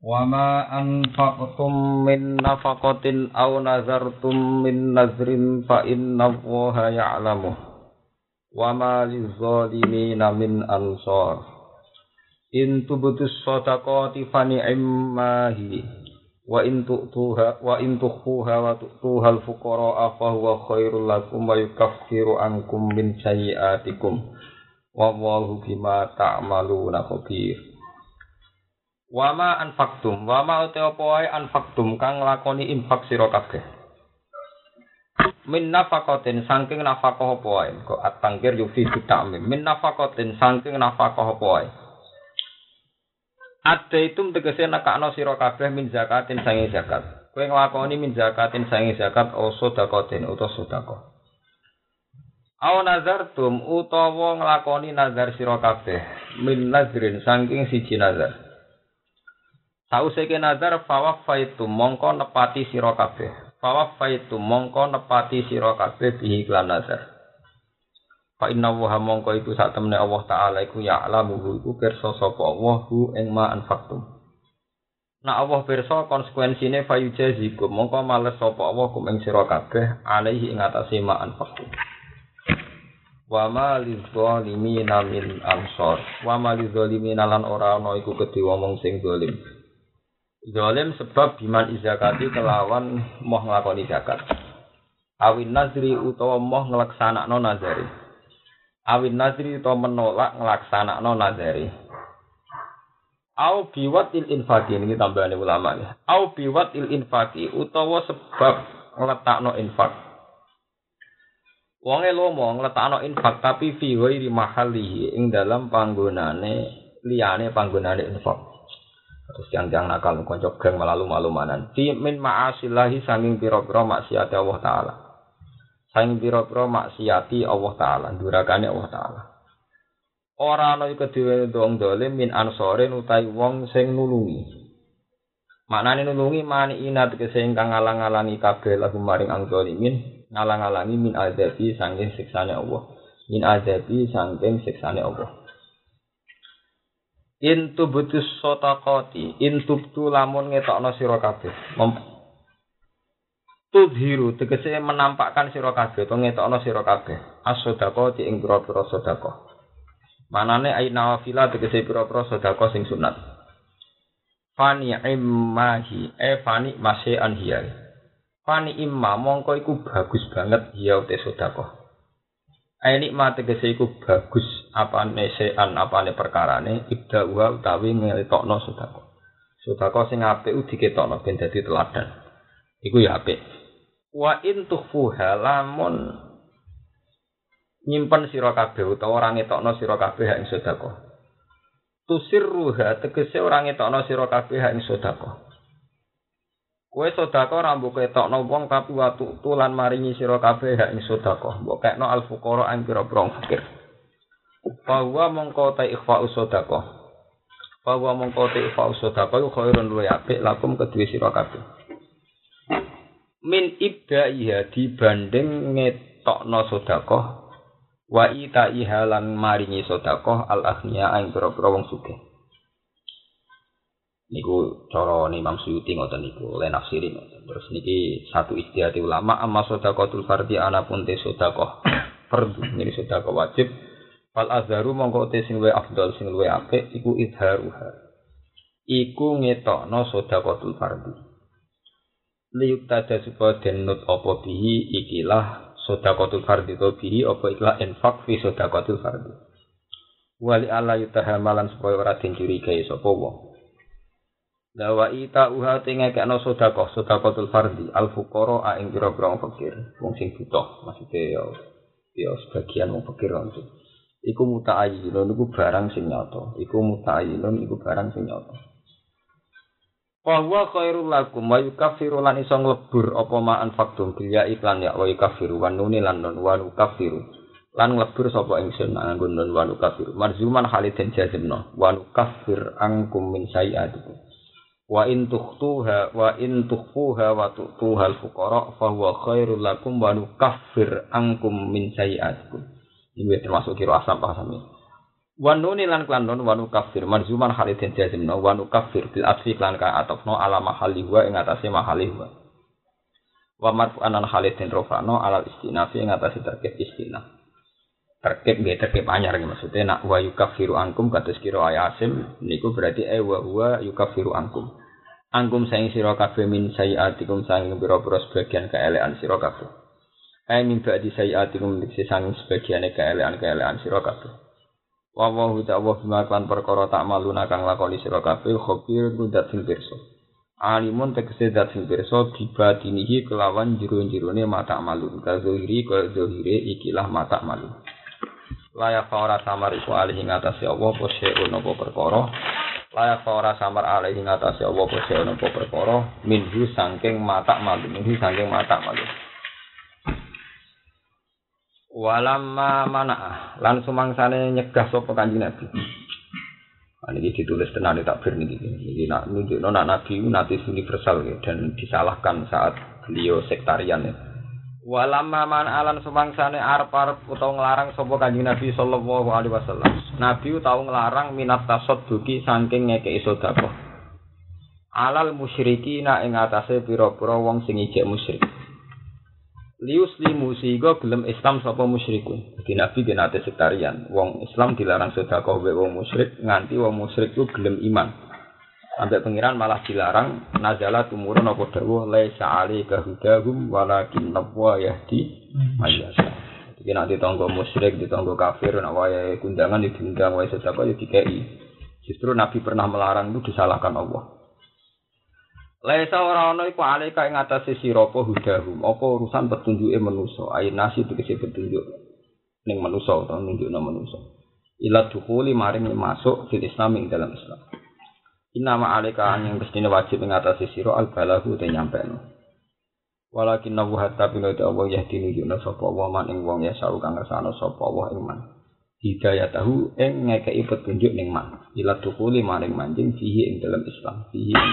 Wa ma anfaqtum min nafaqatin aw nazartum min nazrin fa innallaha ya'lamu. Wa ma lizzalimin min ansar. In tubtus shadaqati fa ni'mahi wa in tukhfuha wa tu'tuha al-fuqara fa huwa khairul lakum wa yukaffiru ankum min sayyi'atikum. Wallahu bima ta'maluna khabir. Wama anfaqtum, wama uta apa wae anfaqtum kang nglakoni infak sira kabeh. Min nafaqatin saking nafaqah apa wae, kok at-tangkir yufi ta'mim. Min nafaqatin saking nafaqah apa wae. Adaitum tegese nekakno sira kabeh min zakatin sange zakat. Kowe nglakoni min zakatin sange zakat o sedekatin utawa sedekah. Aw nazartum utawa nglakoni nazar sira kabeh min nazrin saking siji nazar. Sause ke nazar fawafaitu mongko nepati sira kabeh. Fawafaitu mongko nepati sira kabeh bihi lan nazar. Fa inna wa mongko iku sak temene Allah taala iku ya'lamu iku pirsa sapa Allah hu ing ma anfaqtum. Nah Allah pirsa konsekuensine fayujazikum mongko males sapa Allah kum ing sira kabeh alaihi ing atase ma anfaqtum. Wa ma lizzalimin min ansor. Wa ma lizzalimin lan ora ana iku kedhe wong sing zalim. Zalim sebab biman izakati kelawan moh nglakoni zakat. Awin nazri utawa moh nglaksanakno nazari. Awin nazri utawa menolak nglaksanakno nazari. Au biwatil infaqi ini tambahane ulama ya. Au biwatil infaqi utawa sebab ngletakno infak. Wonge lomo ngletakno infak tapi fi ghairi mahallihi ing dalam panggonane liyane panggonane infak. Terus yang nakal kanca geng malu-malumanan. Fi min ma'asillahi sanging pira-pira maksiat Allah taala. Sanging pira-pira maksiati Allah taala, durakane Allah taala. Ora ana iku dhewe wong dolim min ansorin utawi wong sing nulungi. Maknane nulungi mani inat kesing kang ngalang-alangi kabeh lagu maring ang dolimin, ngalang-alangi min azabi sanging siksane Allah. Min azabi sanging siksane Allah. Intu butus sotakoti, intubtu lamun ngetokno sira kabeh. Tudhiru tegese menampakkan sira kabeh to ngetokno sira kabeh. As-sodaqati ing pira-pira sedekah. Manane aina wafila tegese pira-pira sedekah sing sunat. Fani immahi fani masean hiya. Fani imma mongko iku bagus banget hiya te sedekah. Nikmat tegese iku bagus apane sean apane perkarane ibda wa utawi ngetokno sedekah. Sedekah sing apik diketokno ben dadi teladan. Iku ya apik. Wa in tukhfuha lamun nyimpen sira kabeh utawa ora ngetokno sira kabeh ing sedekah. Tusirruha tegese ora ngetokno sira kabeh ing sedekah. Kowe sedekah ora mbok ketokno wong tapi watu tulan maringi sira kabeh ing sedekah. Mbok kekno al-fuqara ing pira-pira fakir. Bahwa mongko ta ikhfa'us sedekah. Bahwa mongko ta ikhfa'us sedekah iku khairun luwih apik lakum kedue sira kabeh. Min ibda'iha dibanding ngetokno sedekah wa ita'iha lan maringi sedekah al-aghniya ing pira-pira wong sugih. Niku cara Imam Suyuti ngoten niku le nafsiri ngoten. Terus niki satu ijtihad ulama amma sedekatul fardhi ana pun te sedekah fardhu niki sedekah wajib fal azharu mongko te sing luwih afdal sing luwih apik iku idharuha. Iku ngetokno sedekatul fardhi. Liyuk tada supaya denut apa bihi ikilah sedekatul fardhi to bihi apa ikilah infak fi sedekatul fardhi. Wali ala yutahamalan supaya ora den curigai sapa wong. Lawa ita uha tengekno sedekatul fardhi al fuqara ing pira-pira fakir wong sing butuh maksude ya sebagian wong fakir itu iku muta'ayyinun iku barang sing nyata iku muta'ayyinun iku barang sing nyata wa huwa khairul lakum wa yukaffiru lan iso nglebur apa ma anfaqtum bil ya iklan ya wa yukaffiru wa nun lan nun wa yukaffiru lan nglebur sapa ingsun nganggo nun wa yukaffiru marzuman haliden jazmno wa yukaffir angkum min sayiatikum wa in tukhfuha wa tu'tuha al-fuqara fa huwa khairul lakum wa nukaffir ankum min sayi'atikum. Ini termasuk kira asam paham ini. Wanuni lan klan non wanu kafir marzuman halidin jazimno wanu kafir bil asfi klan ka atofno ala mahaliwa ing atase mahaliwa. Wa marfu'anan halidin rofano ala istinafi ing atase terkait istinaf. Terkait nggih terkait anyar maksudnya nak wa yukafiru ankum kados kira ayasim niku berarti wa huwa yukafiru ankum. Ankum saing sira kabeh min sayiatikum saing pira-pira sebagian keelekan sira kabeh. Ai min ba'di sayiatikum dikse saing sebagiane keelekan sira kabeh. Wa ta'ala bima kan perkara tak maluna kang lakoni sira kabeh khabir kudat sing pirsa. Alimun tegese dat sing pirsa dibatinihi kelawan jero-jerone mata malun. Kazohiri ka zohire ikilah mata malun. Layak ora samar iku alih ing atase Allah apa seun apa perkara layak ora samar alih ing atase Allah apa seun apa perkara minhu saking mata malu walamma mana'ah lan sumangsane nyegah sapa Kanjeng Nabi. Ini ditulis tenan takbir niki nak nunjukno Nabi nabi universal dan disalahkan saat beliau sektarian ya. Walamma man alan sumangsane arep-arep utawa nglarang sapa Kanjeng Nabi sallallahu alaihi wasallam. Nabi tau nglarang minat tasadduqi saking ngekeki sedekah. Alal musyrikina ing atase pira-pira wong sing ijek musyrik. Liuslimu siga gelem Islam sapa musyrikun. Dadi Nabi genate sektarian. Wong Islam dilarang sedekah wae wong musyrik nganti wong musyrik ku gelem iman. Sampai pengiran malah dilarang nazala tumurun apa dawuh laisa alika hudahum walakin nabwa yahdi mayyasa. Jadi nek ditanggo musyrik, ditanggo kafir nek wae kundangan diundang wae sedekah ya dikei. Justru Nabi pernah melarang itu disalahkan Allah. Laisa ora ana iku alika ing atase sira apa hudahum, apa urusan petunjuke manusa, ayin nasi tegese petunjuk ning manusa utawa nunjukna manusa. Ila dukhuli maring masuk fil Islam ing dalam Islam. Inama alika yang mestine wajib ngatasi sira al-balahu te nyampeno. Walakin nabu hatta bina Allah yahdini yuna sapa wa man ing wong ya sawu kang ngersano sapa wa ing man. Hidayatahu ing ngekeki petunjuk ning man. Ila dukuli maring manjing fihi ing dalam Islam,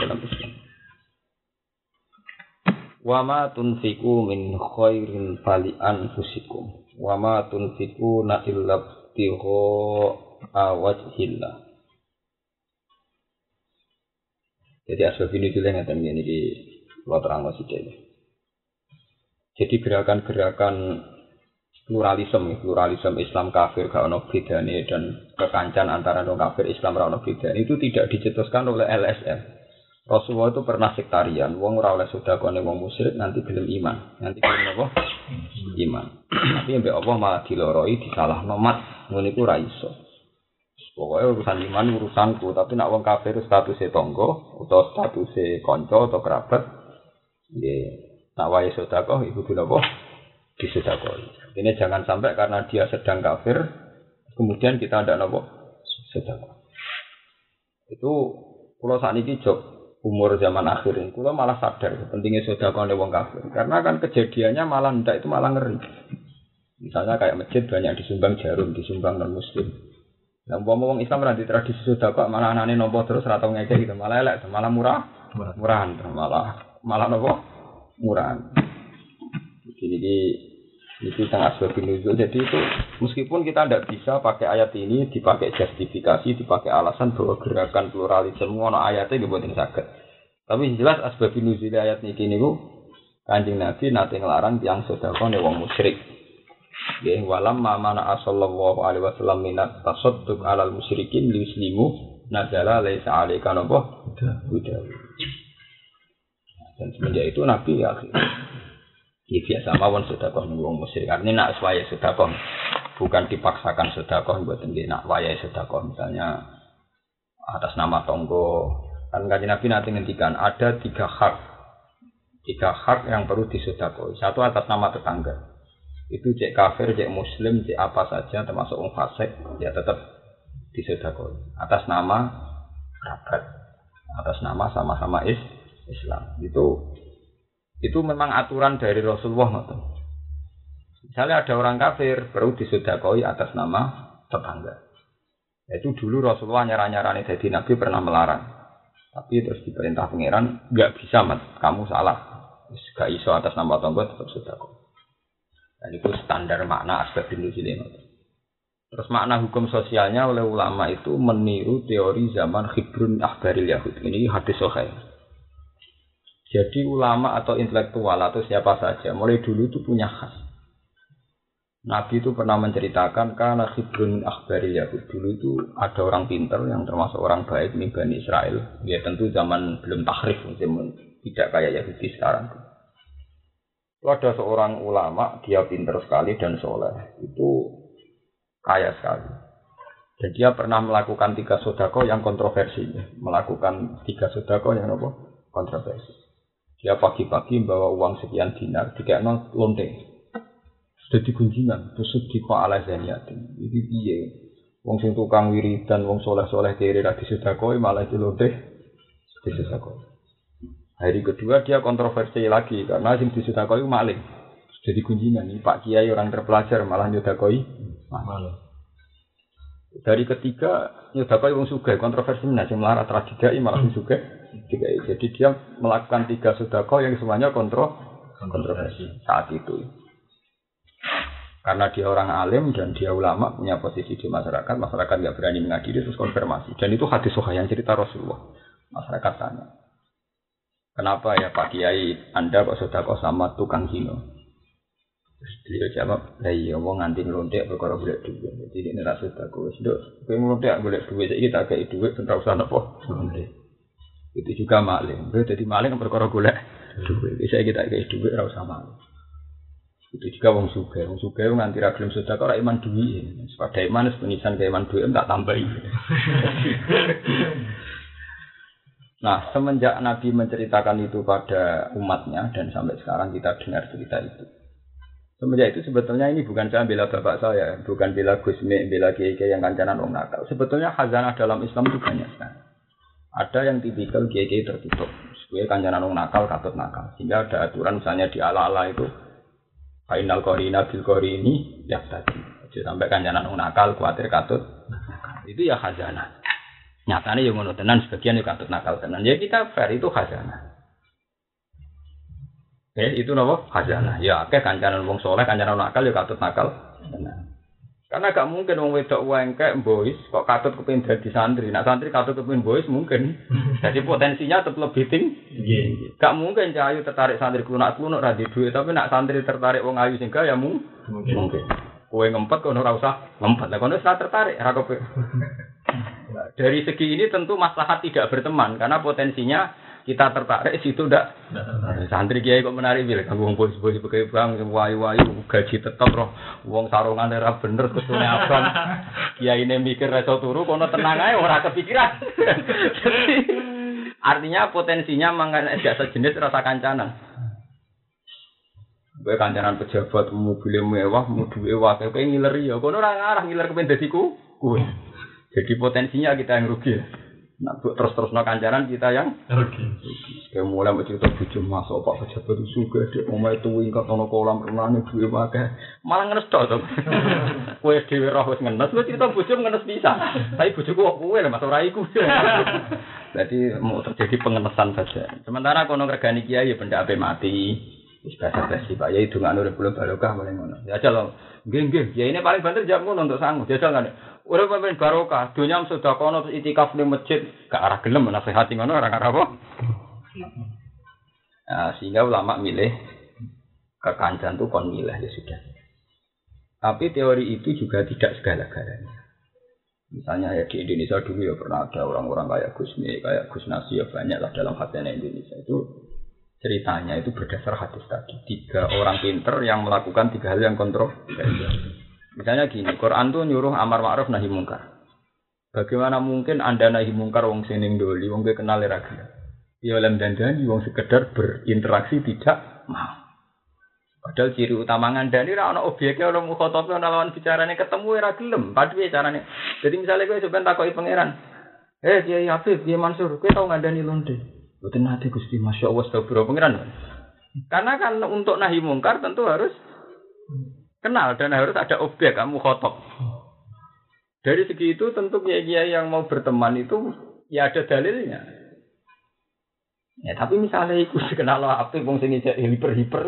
Wa ma tunfiqu min khairin fali anfusikum. Wa ma tunfiqu na illa btigha wajhillah. Jadi asbab ini juga ngeten ngene iki kula terangno sithik. Jadi gerakan-gerakan pluralisme Islam kafir gak ono bedane dan kekancan antara non kafir Islam ora ono bedane itu tidak dicetuskan oleh LSM. Rasulullah itu pernah sektarian, wong ora oleh sedekah ning wong musyrik nanti gelem iman. Nanti gelem apa? Iman. Tapi mbek Allah malah diloroi disalahno mat, ngono iku ora iso. Pokoknya urusan iman urusanku, tapi nak wong kafir statusnya tonggo atau statusnya konco atau kerabat, nak wae sedekah iku dilapa disedekah. Ini jangan sampai karena dia sedang kafir, kemudian kita ndak napa sedekah. Itu kula sakniki jog umur zaman akhir ini, kula malah sadar pentingnya sedekah nek wong kafir. Karena kan kejadiannya malah ndak itu malah ngeri. Misalnya kayak masjid banyak disumbang jarum, disumbang non muslim. Lah wong Islam ora di tradisi sedekah malah anane nampa terus ora tau ngekek gitu, malah elek, malah murahan, malah napa? Murahan. Jadi itu sangat sebab nuzul. Jadi itu meskipun kita tidak bisa pakai ayat ini dipakai justifikasi, dipakai alasan bahwa gerakan pluralisme ono ayatnya dibuatin saged. Tapi jelas asbab nuzul ayat niki niku Kanjeng Nabi nate nglarang tiyang sedekah nek wong musyrik. Nggih walam mana sallallahu alaihi wasallam minat tasadduq alal musyrikin liuslimu nazala laisa alaika napa huda. Dan semenjak itu Nabi ya biasa mawon sedekah ning wong musyrik. Artinya nak wayahe sedekah bukan dipaksakan sedekah mboten nggih nak wayahe sedekah misalnya atas nama tonggo. Kan Kanjeng Nabi nanti ngendikan ada tiga hak yang perlu disedekah. Satu atas nama tetangga. Itu cek kafir, cek muslim, cek apa saja termasuk orang fasik ya tetap disedekah atas nama kerabat, atas nama sama-sama Islam. Itu memang aturan dari Rasulullah. Misalnya ada orang kafir perlu disedekahi atas nama tetangga. Itu dulu Rasulullah nyarani jadi Nabi pernah melarang. Tapi terus diperintah pangeran enggak bisa mat, kamu salah. Gak iso atas nama tetangga tetap sedekah. Dan itu standar makna asbab nuzul ini. Terus makna hukum sosialnya oleh ulama itu meniru teori zaman Khibrun Akhbaril Yahud. Ini hadis sahih. Jadi ulama atau intelektual atau siapa saja mulai dulu itu punya khas. Nabi itu pernah menceritakan karena Khibrun Akhbaril Yahud dulu itu ada orang pintar yang termasuk orang baik nih Bani Israel. Ya tentu zaman belum tahrif, tidak kayak Yahudi sekarang. Itu ada seorang ulama, dia pintar sekali dan soleh. Itu kaya sekali. Dan dia pernah melakukan 3 sedekah yang kontroversi. Melakukan 3 sedekah yang apa? Kontroversi. Dia pagi-pagi bawa uang sekian dinar, dikekno lonte. Sudah digunjingan, terus dikok ala zaniatin. Ini piye? Wong sing tukang wiridan, wong soleh-soleh kiri ra disedekah malah dilonte disedekah. Hari kedua dia kontroversi lagi karena sing disedekah itu maling. Sudah digunjingan, ini Pak Kiai orang terpelajar malah nyedekoi malah. Dari ketiga nyedekoi wong sugih, kontroversi nah sing melarat ra didai malah wong sugih. Jadi dia melakukan 3 sedekah yang semuanya kontroversi saat itu. Karena dia orang alim dan dia ulama punya posisi di masyarakat nggak berani mengadili terus konfirmasi. Dan itu hadis sahih yang cerita Rasulullah. Masyarakat tanya, kenapa ya Pak Kiai Anda kok sedekah sama tukang kino? Terus beliau jawab, lah iya wong nganti nglontek perkara golek dhuwit. Jadi nek ra sedekah wis nduk, kowe nglontek golek dhuwit saiki tak kei dhuwit ora usah napa. Itu juga maling. Dadi maling perkara golek dhuwit. Saiki tak kei dhuwit ora usah maling. Itu juga wong sugih nganti ra gelem sedekah ora iman dhuwit. Sepadha iman penisan ke iman dhuwit tak tambahi. Nah, semenjak Nabi menceritakan itu pada umatnya dan sampai sekarang kita dengar cerita itu. Semenjak itu sebetulnya ini bukan saya bela bapak saya, bukan bela Gusmi, bela kiai-kiai yang kancanan wong nakal. Sebetulnya khazanah dalam Islam itu banyak sekali. Ada yang tipikal kiai-kiai tertutup, supaya kancanan wong nakal katut nakal. Sehingga ada aturan misalnya di ala-ala itu Fainal Qorina bil Qorini ya tadi. Jadi sampai kancanan wong nakal kuatir katut nakal. Itu ya khazanah. Nyatanya yang ngono tenan sebagian yang katut nakal tenan. Ya kita fair itu khazanah. Itu napa? Khazanah. Ya akeh kancanan wong saleh, kancanan nakal ya katut nakal. Tenan. Karena gak mungkin wong wedok wengkek boys kok katut kepengin dadi santri. Nek santri katut kepengin boys mungkin. Jadi potensinya tetap lebih tinggi. Gak mungkin cahayu tertarik santri klunak-klunuk ra di duit, tapi nek santri tertarik wong ayu sing ya mungkin. Kowe ngempet kono ora usah ngempet. Lah kono wis tertarik ra kepe. Dari segi ini tentu maslahat tidak berteman karena potensinya kita tertarik situ ndak santri kiai kok menarik bilih kanggo wong bos-bos pegawai bank wayu-wayu gaji tetep roh wong sarungan ora bener ketune abang kiyaine mikir reso turu kono tenang ae ora kepikiran. Jadi artinya potensinya mangane jasa jenis rasa kancanan. Kowe kancanan pejabat mobil mewah duwe wae kowe ngileri ya kono ora ngarah ngiler kepen dadi kowe. Jadi potensinya kita yang rugi. Nah, terus-terusno kancanan kita yang rugi. Kayak mulai cerita bojo masuk Pak pejabat sugih dhek omahe tuwingkat ana kolam renang duwe akeh. Malah ngenes tok to. Kowe dhewe roh wis ngenes, lu cerita bojo ngenes bisa. Tapi bojoku kok kowe lho Mas ora iku. Jadi mau terjadi pengenesan saja. Sementara kono regani kiai ya benda ape mati. Wis basa-basi Pak Yai dongan urip kula barokah paling ngono. Ya aja lho. Nggih, kiai ini paling banter jam ngono untuk sangu. Jajal kan. Urip paling barokah, dunya sedekah kono itikaf ning masjid, gak arah gelem nasihati ngono ora arah apa. Nah, sehingga ulama milih kekancan tuh kon milih ya sudah. Tapi teori itu juga tidak segala-galanya. Misalnya ya di Indonesia dulu ya pernah ada orang-orang kayak Gusmi, kayak Gus Nasi ya banyak lah dalam khazanah Indonesia itu ceritanya itu berdasar hadis tadi. 3 orang pinter yang melakukan 3 hal yang kontroversial. Misalnya gini, Quran tuh nyuruh amar ma'ruf nahi mungkar. Bagaimana mungkin Anda nahi mungkar wong sining doli, wong kenal ra gelem. Ya lem dandani wong sekedar berinteraksi tidak mau. Padahal ciri utama ngandani ra ana objeke ana mukhatabne ana lawan bicarane ketemu ora gelem. Padhe carane. Jadi misalnya kowe sampean takoki pangeran, Kiai Habib, Kiai Mansur, kowe tau ngandani londe? Mboten nate Gusti, masyaallah astagfirullah pangeran. Karena kan untuk nahi mungkar tentu harus kenal dan harus ada objek kamu khotob. Dari segi itu tentu kiai yang mau berteman itu ya ada dalilnya. Ya tapi misalnya iku dikenal apik wong sing ijek hiper-hiper.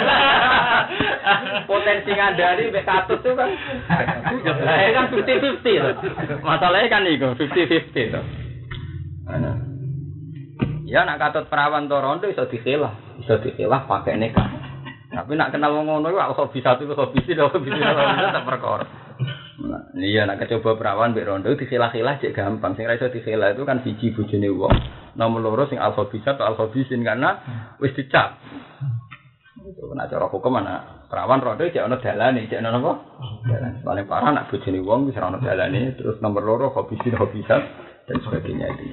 Potensi ngandani mek katut tuh kan. Ya kan 50-50 to. Masalahnya kan iku 50-50 to. Ana. Ya nak katut perawan to rondo iso dikelah pakai nikah. Tapi nak kenal wong ngono iku aku bisa tak perkara. Nah, iya nak coba perawan mbek rondo dikelah-kelah cek gampang. Sing ra iso dikelah itu kan siji bojone wong. Nomor loro sing alfabisa atau alfabisin karena wis dicap. Itu kena cara hukum ana perawan rondo cek ana dalane, cek ana apa? Dalan. Paling parah nak bojone wong wis ora ana dalane, terus nomor loro hobisa dan sebagainya itu.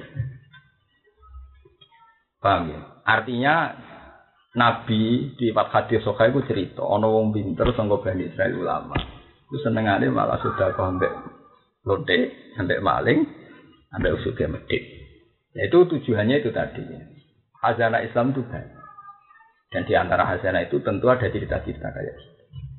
Paham ya? Artinya Nabi di empat hadis sahih iku cerita ana wong pinter sangka Bani Israil ulama. Ku senengane malah sudah kok ambek lonte, ambek maling, ambek usuge medhit. Ya itu tujuannya itu tadi. Khazanah Islam itu banyak. Dan di antara khazanah itu tentu ada cerita-cerita kayak gitu.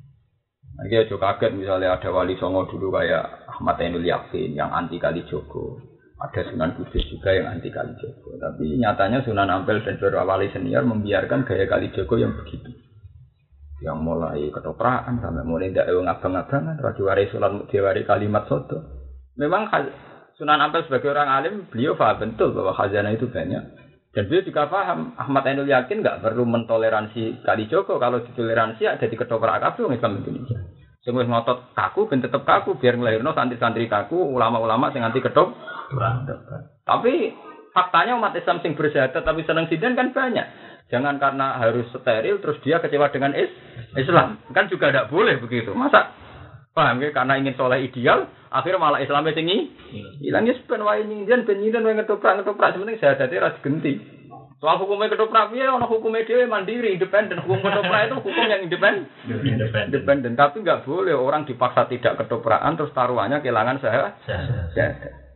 Nanti aja kaget misalnya ada wali songo dulu kayak Ahmad Ainul Yakin yang anti Kalijogo. Ada Sunan Kudus juga yang anti Kalijogo. Tapi nyatanya Sunan Ampel dan beberapa wali senior membiarkan gaya Kalijogo yang begitu. Yang mulai ketoprakan sampai mulai ndak ngabang-abangan, rajuwari sulat mutiwari kalimat soto. Memang Sunan Ampel sebagai orang alim, beliau paham betul bahwa khazanah itu banyak. Dan beliau juga paham, Ahmad Ainul Yakin nggak perlu mentoleransi Kalijogo. Kalau ditoleransi ada di ketoprak kabeh wong Islam Indonesia. Sing wis ngotot kaku ben tetep kaku biar nglairno santri-santri kaku, ulama-ulama sing anti ketoprak. Tapi faktanya umat Islam sing bersyahadat tapi seneng sinden kan banyak. Jangan karena harus steril terus dia kecewa dengan Islam. Kan juga tidak boleh begitu. Masa paham ya karena ingin soleh ideal, akhirnya malah Islamnya tinggi. Hilangnya sepen wae nyindan ben nyindan wae ngetoprak sebenarnya syahadate ra digenti. Soal hukumnya ketoprak piye ana hukumnya dhewe mandiri, independen. Hukum ketoprak itu hukum yang independen. Tapi enggak boleh orang dipaksa tidak ketoprakan terus taruhannya kehilangan syahadat.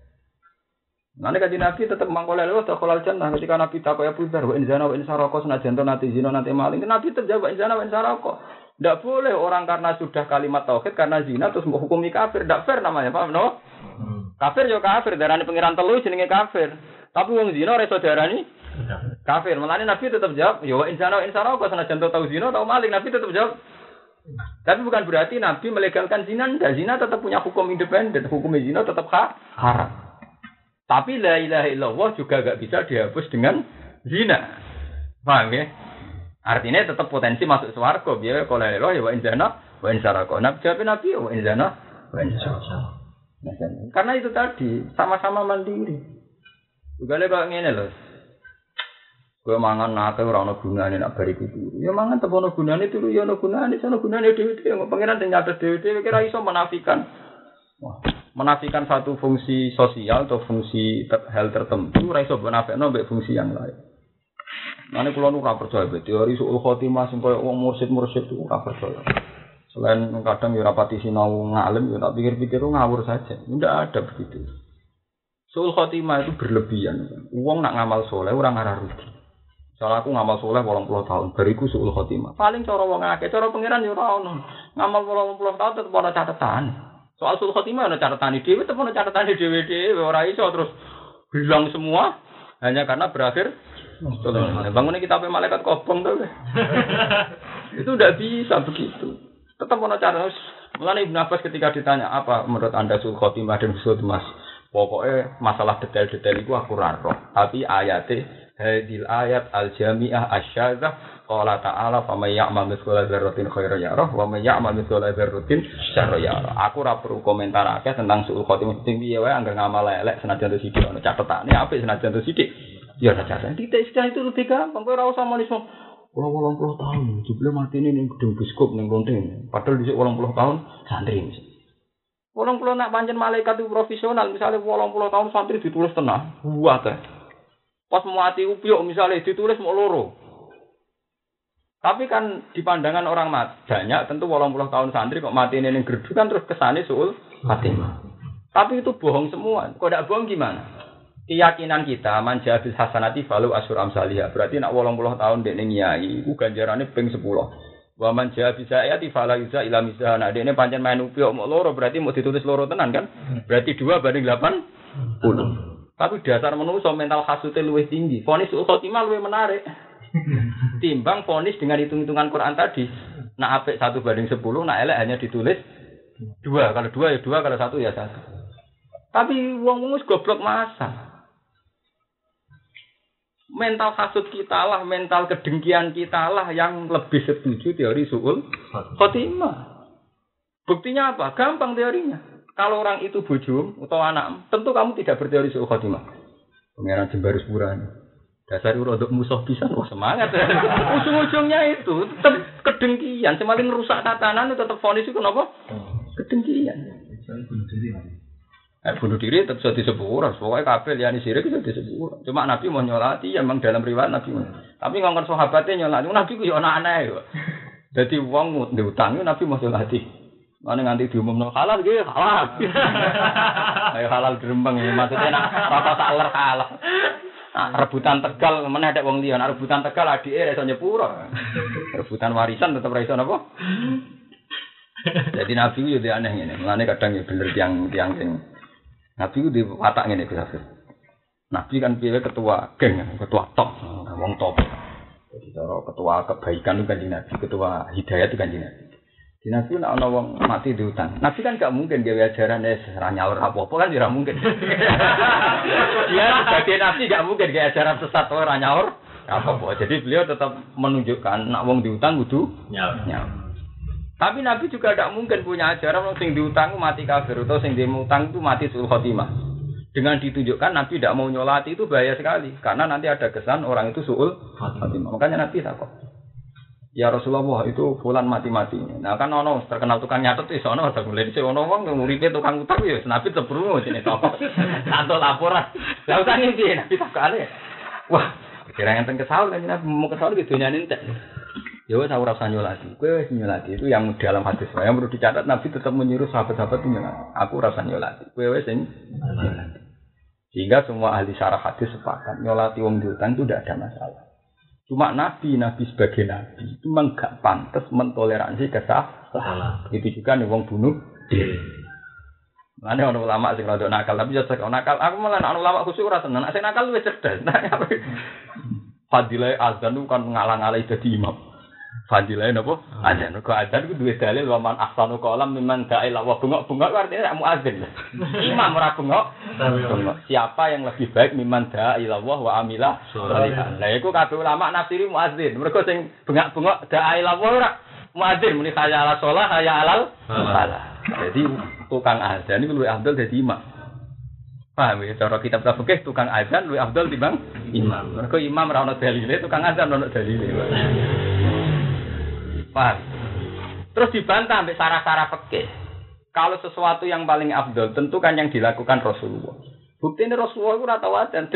Nanti kaji Nabi tetap mangkoleh lho takolal jannah ketika Nabi takoi Abu Dzar wa in zina wa in sarqa senajan to nanti zina nanti maling. Nabi terjawab in zina wa in sarqa. Enggak boleh orang karena sudah kalimat tauhid karena zina terus menghukumi kafir, enggak fair namanya, paham no? Kafir yo kafir, darane pangeran telu jenenge kafir. Tapi wong zina ora iso darani kafir. Mulane Nabi tetap jawab yo wa in zina wa in sarqa senajan to tau zina tau maling, Nabi tetap jawab. Tapi bukan berarti Nabi melegalkan zina, enggak, zina tetap punya hukum independen, hukum zina tetap haram. Tapi la ilaha illallah juga enggak bisa dihapus dengan zina. Paham ya? Artinya tetap potensi masuk swarga biar kalau la ilaha ya wa inzana wa insaraka. Nabi jawab Nabi wa inzana wa insaraka. Karena itu tadi sama-sama mandiri. Juga le kok ngene lho. Kowe mangan nate ora ono gunane nek bariku turu. Ya mangan tetep ono gunane turu ya ono gunane, sono gunane dhewe-dhewe. Pangeran sing nyatet dhewe-dhewe kira iso menafikan. Wah, menafikan satu fungsi sosial atau fungsi hal tertentu ora iso menafekno mbek fungsi yang lain. Mane kula nu ora percaya teori suul khotimah sing koyo wong mursyid itu ora percaya. Selain kadang ya rapati sinau ngalim ya tak pikir-pikir ngawur saja. Tidak ada begitu. Suul khotimah itu berlebihan. Wong nak ngamal soleh ora ngarah rugi. Soale aku ngamal soleh 80 tahun, bariku suul khotimah. Paling cara wong akeh, cara pangeran ya ora ono. Ngamal 80 tahun tetep ana catatan. Soal suul khotimah ana catatane dhewe, tetep ana catatane dhewe-dhewe, ora iso terus hilang semua hanya karena berakhir bangunnya kita sampai malaikat kobong tuh. Itu tidak bisa begitu. Tetap mau cara. Mulane Ibnu Abbas ketika ditanya apa menurut Anda suul khotimah dan husnul mas, pokoknya masalah detail-detail itu aku raro. Tapi ayatnya hadil ayat al-jami'ah asyadzah qala ta'ala faman ya'mal mithqala dzarratin khairan yarah wa man ya'mal mithqala dzarratin syarran yarah. Aku ora perlu komentar akeh tentang suul khotimah sing piye wae anggar ngamal elek senajan to sithik ono catetane apik senajan to sithik. Ya saja. Titik sejarah itu lebih gampang. Kowe ora usah manismo. 80 tahun, jebule mati ini ning gedung biskop ning Lonteng. Padahal dhisik 80 tahun santri. 80 nak pancen malaikat itu profesional, misalnya 80 tahun santri ditulis tenang. Buat teh. Pas mati upyuk misalnya ditulis mau loro. Tapi kan di pandangan orang banyak tentu 80 tahun santri kok mati ning gerdu kan terus kesane suul khotimah. Tapi itu bohong semua. Kok ndak bohong gimana? Keyakinan kita manja bil hasanati falu asyur amsalihah. Berarti nak 80 tahun dekne nyai iku ganjarane ping 10. Wa manja bisa ayati fala yuza ila misana. Dekne pancen main upyok mok loro berarti mau ditulis loro tenan kan? Berarti 2 banding 80. Tapi dasar manusa mental khasute luwih tinggi. Vonis suul khotimah luwih menarik. Timbang vonis dengan hitung-hitungan Quran tadi. Nak apik 1/10, nak elek hanya ditulis 2. Kalau 2 ya 2, kalau 1 ya 1. Tapi wong wis goblok masa. Mental hasud kita lah, mental kedengkian kita lah yang lebih setuju teori suul khotimah. Buktinya apa? Gampang teorinya. Kalau orang itu bojomu atau anak, tentu kamu tidak berteori suul khotimah. Pengeran Jembarus Purani. Dasar rodok musuh pisan, wah semangat. Ujung-ujungnya itu tetap kedengkian, semakin rusak tatanan itu tetap vonis itu kenapa? Kedengkian. Bunuh diri tetap bisa disebut, pokoknya kabel liyane sirik bisa disebut. Cuma Nabi mau nyolati, ya memang dalam riwayat Nabi. Tapi ngongkon sahabatnya nyolati, Nabi ku yo anak-anak yo. Dadi wong diutangi Nabi mau nyolati. Mane nganti diumumno halal nggih, halal. Ayo halal dirembang maksudnya nak rata sak ler kalah. Rebutan Tegal meneh ada wong liya, rebutan Tegal adike ra iso nyepuro. Rebutan warisan tetep ra iso napa? Jadi Nabi ku yo aneh ngene. Mulane kadang ya bener tiang sing Nabi ku di watak ngene Gus Hafiz. Nabi kan piye ketua geng, ketua top, wong top. Jadi cara ketua kebaikan itu kan Nabi, ketua hidayah itu kan Nabi. Di Nabi nek ana wong mati diutang. Nabi kan gak mungkin gawe ajaran ora nyaur apa-apa kan ora mungkin. Dia sebagai Nabi gak mungkin gawe ajaran sesat ora nyaur apa-apa. Jadi beliau tetap menunjukkan nek wong diutang kudu nyaur. Tapi Nabi juga tidak mungkin punya ajaran sing diutang mati kafir atau sing diutang itu mati suul khotimah. Dengan ditunjukkan Nabi tidak mau nyolati itu bahaya sekali karena nanti ada kesan orang itu suul khotimah. Makanya Nabi takut. Ya Rasulullah itu fulan mati-mati. Nah kan ono terkenal tukang nyatet wis ono ada mulai dhisik ono wong nguripe tukang utang ya Nabi tebrungu jenenge tokoh. Santo laporan. Lah utange piye Nabi takane. Wah, kira ngenten kesaul kan Nabi mau kesaul ke dunyane entek. Ya wis ora usah nyolati. Kowe wis nyolati itu yang dalam hadis yang perlu dicatat Nabi tetap menyuruh sahabat-sahabat nyolati. Aku ora usah nyolati. Kowe wis sing nyolati. Sehingga semua ahli syarah hadis sepakat nyolati wong diutang itu tidak ada masalah. Cuma Nabi sebagai Nabi itu memang gak pantas mentoleransi kesalahan. Itu juga nih wong bunuh diri. Mana orang ulama sing rada nakal tapi yo nakal. Aku malah ana ulama khusus ora seneng. Nek nakal luwih cerdas. Fadilah azan itu kan ngalang-alai dadi imam. Fadilah napa? Azan. Kok azan iku duwe dalil wa man ahsanu qalam mimman da'ila wa bengok-bengok artinya nek muadzin. Imam ora bengok. Siapa yang lebih baik mimman da'ila wa amila sholihan. Lah iku kabeh ulama nafsiri muadzin. Mergo sing bengok-bengok da'ila wa ora muadzin muni kaya ala shalah kaya alal salah. Jadi tukang azan iku luwih afdal dadi imam. Paham ya cara kitab fikih tukang azan luwih afdal timbang imam. Mergo imam ora ono dalile, tukang azan ono dalile. Paham. Terus dibantah sampai sarah-sarah fikih. Kalau sesuatu yang paling afdal tentu kan yang dilakukan Rasulullah. Buktinya Rasulullah itu ora tau adzan.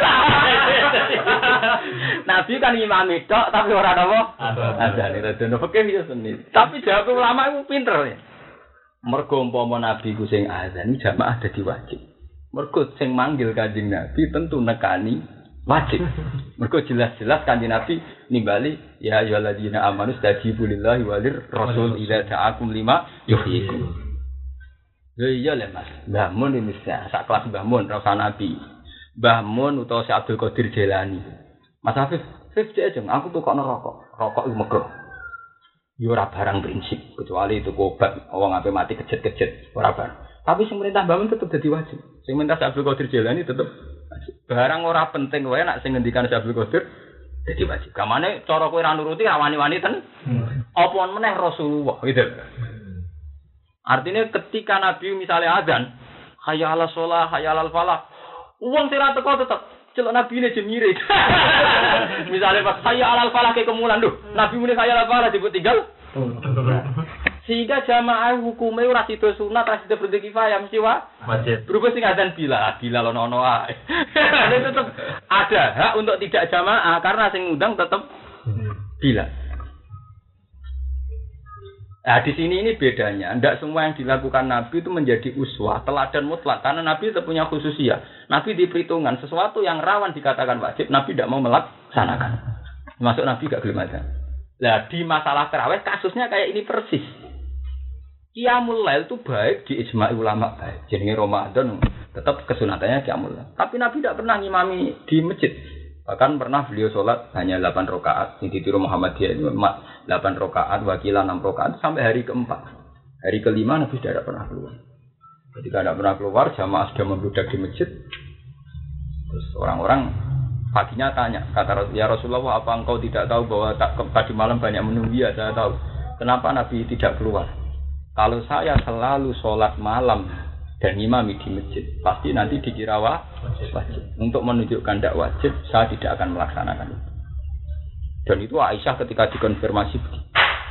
Nabi kan imam tok tapi ora napa? Adzan. Adzan fikih ya seni. Tapi jawab ulama itu pinter ya. Mergo umpama Nabi ku sing adzan jamaah dadi wajib. Mergo sing manggil Kanjeng Nabi tentu nekani wajib. Mergo jelas-jelas Kanjeng Nabi nimbali ya ayyuhalladzina amanu stajibu lillahi walir rasul idza ta'akum lima yuhyikum. Ya iya le Mas. Mbah Mun ini sak kelas Mbah Mun ra usah Nabi. Mbah Mun utawa Syekh Abdul Qadir Jailani. Mas Hafiz, aja aku tukokno rokok. Rokok iku megah. Ya ora barang prinsip kecuali itu obat wong ape mati kejet-kejet ora barang. Tapi sing perintah Mbah Mun tetep dadi wajib. Sing perintah Syekh Abdul Qadir Jailani tetep barang ora penting wae nek sing ngendikan Syekh Abdul Qadir dadi wajib. Kamane cara kowe ra nuruti ra wani-wani ten. Apa meneh Rasulullah gitu. Artinya ketika Nabi misalnya azan, hayya 'alas shalah, hayya 'alal falah. Wong sing ra teko tetep celok Nabi ne jemire. Misalnya pas hayya 'alal falah ke kemulan lho, Nabi muni hayya 'alal falah disebut tinggal. Sehingga jamaah hukumnya ora sida sunat, ora sida fardhu kifayah mesti wajib. Berubah sing azan bila ono ae. Itu tetap ada hak untuk tidak jamaah karena sing ngundang tetap bila. Nah di sini ini bedanya. Tidak semua yang dilakukan Nabi itu menjadi uswah, teladan mutlak. Karena Nabi itu punya khususiyah. Nabi di perhitungan sesuatu yang rawan dikatakan wajib, Nabi tidak mau melaksanakan. Masuk Nabi gak gelem azan. Nah di masalah tarawih kasusnya kayak ini persis. Qiyamul Lail itu baik di ijma' ulama baik. Jenenge Ramadan Tetap kesunatannya qiyamul lail. Tapi Nabi tidak pernah ngimami di masjid. Bahkan pernah beliau sholat hanya 8 rakaat. Yang ditiru Muhammadiyah itu 8 rakaat, wakilah 6 rakaat sampai hari keempat. Hari kelima Nabi tidak pernah keluar. Ketika tidak pernah keluar, jamaah sudah membludak di masjid. Terus orang-orang paginya tanya, kata ya Rasulullah, apa engkau tidak tahu bahwa tadi malam banyak menunggu? Ya, saya tahu. Kenapa Nabi tidak keluar? Kalau saya selalu sholat malam dan imami di masjid, pasti nanti dikira wajib. Untuk menunjukkan tidak wajib, saya tidak akan melaksanakan itu. Dan itu Aisyah ketika dikonfirmasi begitu.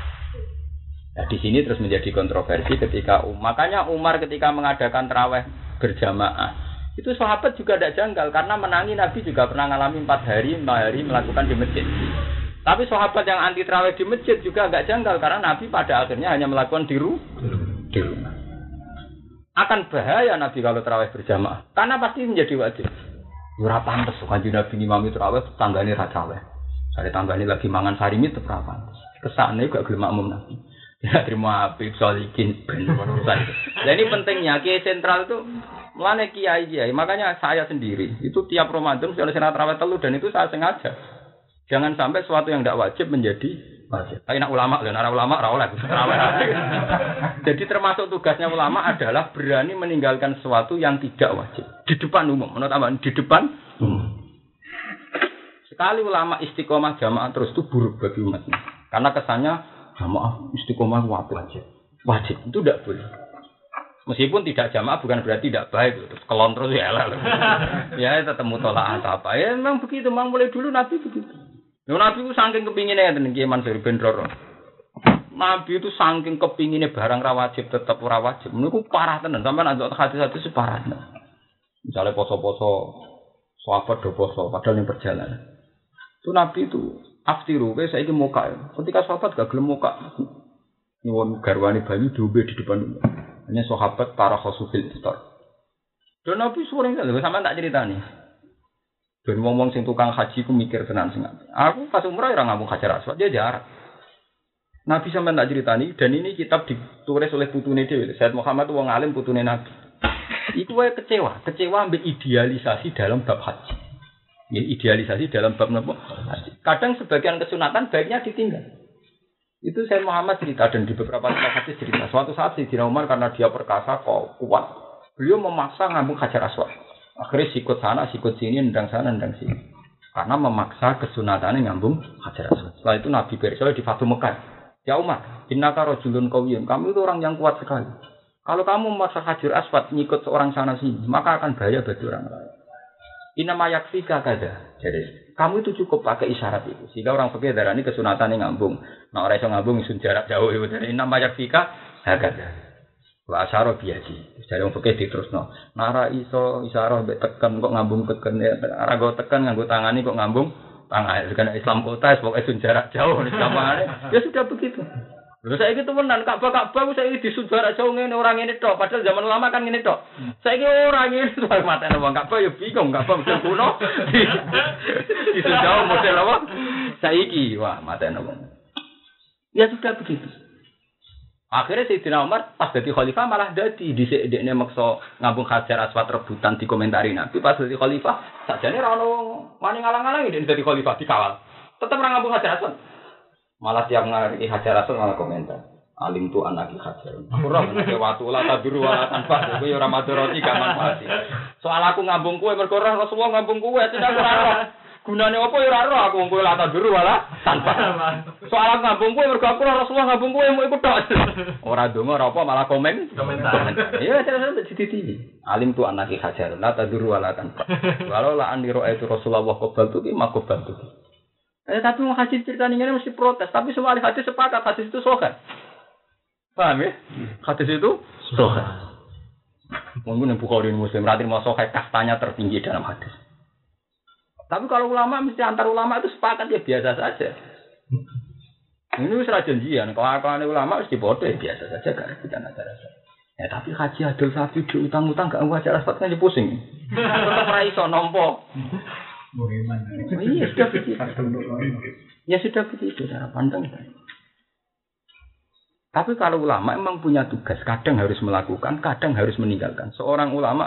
Nah, di sini terus menjadi kontroversi ketika makanya Umar ketika mengadakan tarawih berjamaah, itu sahabat juga tidak janggal karena menangi Nabi juga pernah mengalami 4 hari melakukan di masjid. Tapi sahabat yang anti tarawih di masjid juga enggak janggal karena Nabi pada akhirnya hanya melakukan di rumah. Akan bahaya Nabi kalau tarawih berjamaah karena pasti menjadi wajib. Ora pantes kanjeng Nabi ngimami tarawih tanggane ra tarawih. Sare tanggane lagi mangan sarimi tetep ra pantes. Kesane gak gelem makmum Nabi. Ya terima apik solikin ben urusan. Lah ini pentingnya kiai sentral itu mulane kiai. Makanya saya sendiri itu tiap Ramadan mesti ada tarawih telu dan itu saya sengaja. Jangan sampai sesuatu yang tidak wajib menjadi wajib. Tapi nak ulama, nara ulama rawleh. Jadi termasuk tugasnya ulama adalah berani meninggalkan sesuatu yang tidak wajib di depan umum. Menurut apa? Di depan umum. Sekali ulama istiqomah jamaah terus itu buruk bagi umatnya. Karena kesannya jamaah istiqomah wajib. Itu tidak boleh. Meskipun tidak jamaah bukan berarti tidak baik. Terus kelon terus ya lah. Ya tetap mutolaah apa. Ya memang begitu. Memang mulai dulu Nabi begitu. Nabi itu saking kepinginnya dan Kiai Mansur bin Roro. Nabi itu saking kepinginnya barang ra wajib tetap ora wajib. Niku parah tenan sampean antuk hadis-hadis separah. Misalnya poso-poso sahabat do poso padahal yang perjalanan. Itu Nabi itu aftiru wis saiki muka. Ketika sahabat gak gelem muka. Nyuwun garwane banyu diombe di depan umum. Hanya sahabat para khosufil iftar. Dan Nabi sering sampean tak ceritani. Dan ngomong sing tukang haji ku mikir tenan sing aku pas umrah ora ngambung Hajar Aswad dia jarak. Nabi sampean tak ceritani dan ini kitab ditulis oleh putune dhewe. Sayyid Muhammad wong alim putune Nabi. Iku wae kecewa ambek idealisasi dalam bab haji. Ya idealisasi dalam bab napa? Haji. Kadang sebagian kesunatan baiknya ditinggal. Itu Sayyid Muhammad cerita dan di beberapa hadis cerita. Suatu saat Sayyidina Umar karena dia perkasa kok kuat, beliau memaksa ngambung Hajar Aswad. Akhirnya sikut sana, sikut sini, nendang sana, nendang sini. Karena memaksa kesunatannya ngambung Hajar Aswad. Setelah itu Nabi Bersol di Fatu Mekah. Ya Umar, innaka rajulun qawiyyun. Kamu itu orang yang kuat sekali. Kalau kamu memaksa Hajar Aswad ngikut seorang sana sini, maka akan bahaya bagi orang lain. Inama yakfika kada. Jadi, kamu itu cukup pakai isyarat itu. Sehingga orang fikih darani kesunatannya ngambung. Nah, orang yang ngambung isun jarak jauh itu. Inama yakfika kada. Wa asyara biadi. Jare wong fikih diterusno. Nara iso isyarah mbek tekan kok ngambung teken ya. Ora go tekan nganggo tangani kok ngambung tangan. Kan Islam kota pokoke sun jarak jauh Islamane. Ya sudah begitu. Lha saiki temenan Ka'bah ku saiki di sun jarak jauh ngene ora ngene tok. Padahal zaman lama kan ngene tok. Saiki ora ngene soal matene wong Ka'bah ya bingung Ka'bah model kuno. Di sun jauh model apa? Saiki wah matene wong. Ya sudah begitu. Akhirnya Sayyidina Umar pas jadi khalifah malah dadi dhisik-dhisik maksa ngambung Hajar Aswad rebutan di komentari Nabi pas jadi khalifah sajane ra ono wani ngalang-alangi dene dadi khalifah dikawal. Tetep ra ngambung Hajar Aswad. Malah tiap ngari Hajar Aswad malah komentar. Alim tu anaki Hajar. Aku ora mesti watu la taduru wala tanfa kowe ora madharati gak manfaat. Soal aku ngambung kowe mergo ora Rasulullah ngambung kowe tidak ora. Gunane apa ya ora ro aku wong kowe la taduru wala tanpa. Soal ngambung kowe mergo aku Rasulullah ngambung kowe mau ikut tok. Ora ndonga ora apa malah komentar. Iya terus dititi. Alim tu anaki Hajar la taduru wala tanpa. Walau la andiro itu Rasulullah qabal tu ki makobal tu. Tapi mau hadis cerita ini mesti protes. Tapi semua ahli hadis sepakat hadis itu sahih. Paham ya? Hadis itu sahih. Mungkin yang Bukhari Muslim berarti mau sahih kastanya tertinggi dalam hadis. Tapi kalau ulama mesti antar ulama itu sepakat ya biasa saja. Ini sudah janjian. Kalau ulama mesti bodoh ya biasa saja kan kita nggak rasa. Ya tapi haji adil sapi di utang-utang gak wajar aspat kan pusing. Tetap raiso nompo. Iya sudah begitu. Ya sudah begitu cara pandang. Tapi kalau ulama memang punya tugas, kadang harus melakukan, kadang harus meninggalkan. Seorang ulama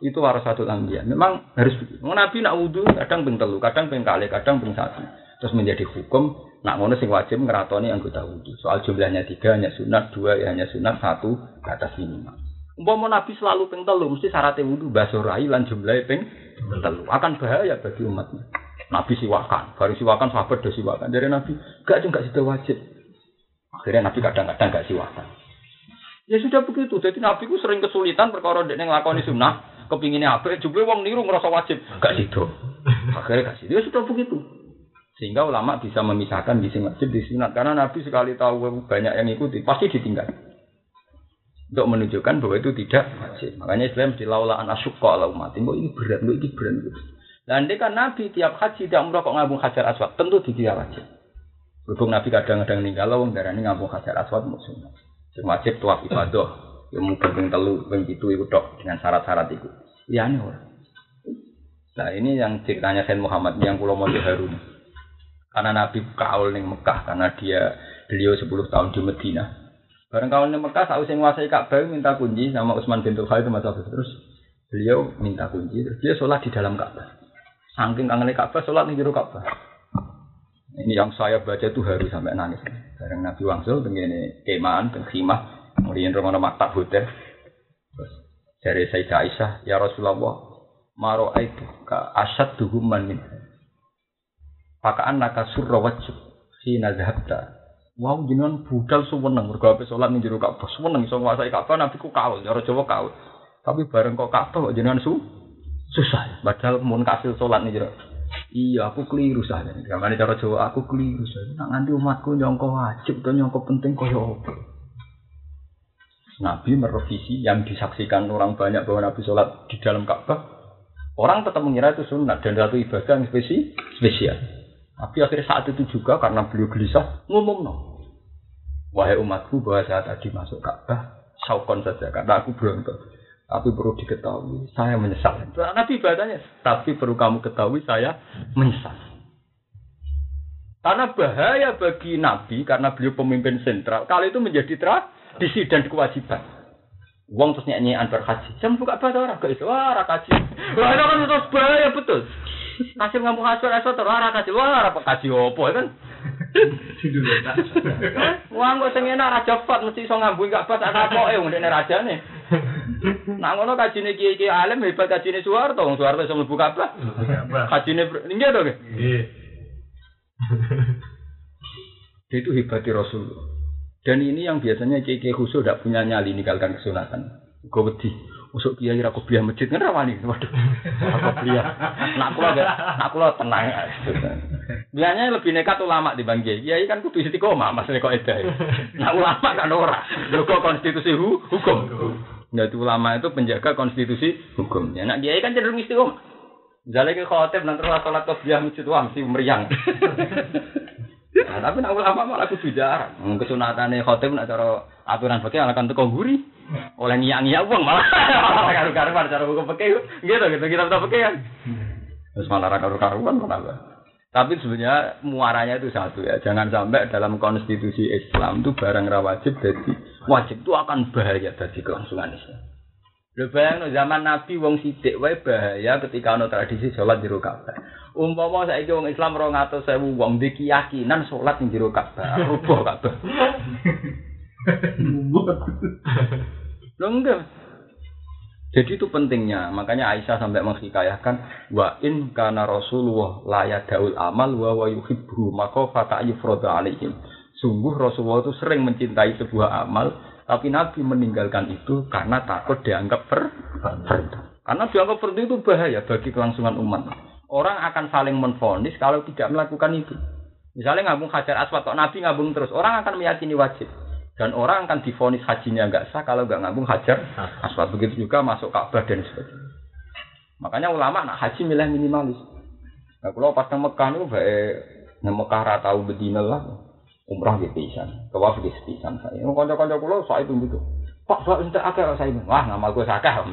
itu warasatul anbiya. Memang harus begitu. Nabi nak wudu kadang ping 3, kadang ping 2, kadang ping 1. Terus menjadi hukum nak ngono sing wajib ngeratoni anggota wudu. Soal jumlahnya 3 hanya sunat, 2 ya hanya sunat, 1 ke atas minimal. Umpama Nabi selalu ping 3 mesti syaratnya wudu basuh rai lan jumlahe ping 3. Akan bahaya bagi umatnya. Nabi siwakan, baru siwakan sahabat do siwakan. Dari Nabi gak sudah wajib. Akhirnya Nabi kadang-kadang gak siwakan. Ya sudah begitu. Jadi Nabi ku sering kesulitan perkara ndek nglakoni sunah, kepingine apik, jebule wong niru ngrasa wajib, gak sido. Akhirnya gak sido. Ya sudah begitu. Sehingga ulama bisa memisahkan di sing wajib di sunat karena Nabi sekali tahu banyak yang ikuti pasti ditinggal. Untuk menunjukkan bahwa itu tidak wajib. Makanya Islam dilaula an asyqa ala umat. Ini berat, ini berat. Dan kan Nabi tiap haji tidak umrah kok ngambung Hajar Aswad, tentu dikira wajib. Berhubung Nabi kadang-kadang ninggal wong darani ngambung Hajar Aswad musuh. Sing wajib tawaf ibadah, yang mungkin ping 3, ping 7 iku tok dengan syarat-syarat itu. Liyane ora. Nah, ini yang ceritanya Sayyid Muhammad yang kula maca Harun. Karena Nabi kaul ning Mekah karena beliau 10 tahun di Madinah. Bareng kaul ning Mekah sausé nguasai Ka'bah minta kunci sama Utsman bin Khalid terus beliau minta kunci terus dia sholat di dalam Ka'bah. Saking kangene Ka'bah sholat ning jero Ka'bah. Ini yang saya baca itu harus sampai nangis. Bareng Nabi wangsul tengene kemaan teng khimah, kemudian romono maktab hotel. Terus dari Sayyidah Aisyah, ya Rasulullah, maro aitu ka asyadduhum min. Pakaan naka surra wajib si nazhabta. Wow jenengan budal suweneng mergo ape salat ning jero Ka'bah. Suweneng iso nguasai Ka'bah Nabi ku kaul, cara Jawa kaul. Tapi bareng kok Ka'bah kok jenengan susah. Padahal mun kasil salat ning jero. Iya, aku keliru saja. Gamane cara Jawa aku keliru saja. Nak nganti umatku nyangka wajib atau nyangka penting kaya apa. Nabi merevisi yang disaksikan orang banyak bahwa Nabi sholat di dalam Ka'bah. Orang tetap mengira itu sunat dan satu ibadah yang spesial. Tapi akhirnya saat itu juga karena beliau gelisah ngomong wahai umatku bahwa saya tadi masuk Ka'bah saukon saja karena aku berontak. Tapi perlu diketahui, saya menyesal. Nabi ibadahnya, tapi perlu kamu ketahui, saya menyesal. Karena bahaya bagi Nabi, karena beliau pemimpin sentral, kalau itu menjadi tradisi dan kewajiban. Uang terus nyanyian berhaji. Saya buka bahasa orang, gak itu, wah rakaji. Wah itu kan terus bahaya, betul. Kasih ngomong asal-asal terus, wah rakaji, wah rakaji apa, kan? Wah kok sing enak raja fat mesti iso ngambung gak pas tak kapoke wong nek rajane. Nak ngono kajine kiai-kiai alim hebat kajine Soeharto, wong Soeharto iso mlebu Ka'bah. Kajine nggih to nggih. Nggih. Itu hebatnya Rasulullah. Dan ini yang biasanya kiai-kiai khusus tidak punya nyali ninggalkan kesunatan. Gue wedi, usuk kiai ra kopiah masjid kan rawani. Waduh. Kopiah. Nak kula tenang. Biasanya lebih nekat ulama dibanding kiai. Kiai kan kudu istiqomah, maksudnya kok edah. Nak ulama kan ora. Lho kok konstitusi hukum. Jadi ulama itu penjaga konstitusi hukum. Ya nak kiai kan cenderung istiqomah. Misalnya ke khotib nanti salat kopiah masjid wah mesti meriang. Nah, tapi nak ulama malah kudu jarang. Kesunatane khotib nak cara aturan fikih akan teko guri. Oleh ngiyak-ngiyak wong malah karu-karuan cara hukum fikih. Gitu kita fikih kan. Terus malah karu-karuan malah. Tapi sebenarnya muaranya itu satu ya. Jangan sampai dalam konstitusi Islam itu barang ra wajib jadi wajib itu akan bahaya bagi kelangsungan Islam. Lho bayangno zaman Nabi wong sithik wae bahaya ketika ana tradisi salat jero Ka'bah. Umpama saiki wong Islam 200.000 wong di keyakinan salat ning jero Ka'bah, rubuh Ka'bah. Lho enggak. Jadi itu pentingnya, makanya Aisyah sampai menghikayahkan wa in kana Rasulullah la yadaul amal wa yuhibbu maka fata yufrada alaihim. Sungguh Rasulullah itu sering mencintai sebuah amal, tapi Nabi meninggalkan itu karena takut dianggap fardu. Karena dianggap fardu itu bahaya bagi kelangsungan umat. Orang akan saling menvonis kalau tidak melakukan itu. Misalnya ngambung Hajar Aswad, Nabi ngambung terus, orang akan meyakini wajib. Dan orang akan divonis hajinya enggak sah kalau enggak ngambung Hajar Aswad. Begitu juga masuk Ka'bah dan sebagainya. Makanya ulama nak haji milih minimalis. Nah, kalau pas nang Mekah niku bae nang Mekah ra tau bedina lah. Umrah ge pisan, tawaf ge pisan saya. Kanca-kanca kula sak itu gitu. Pak, entek akeh saya. Wah, ngamal gue sakah.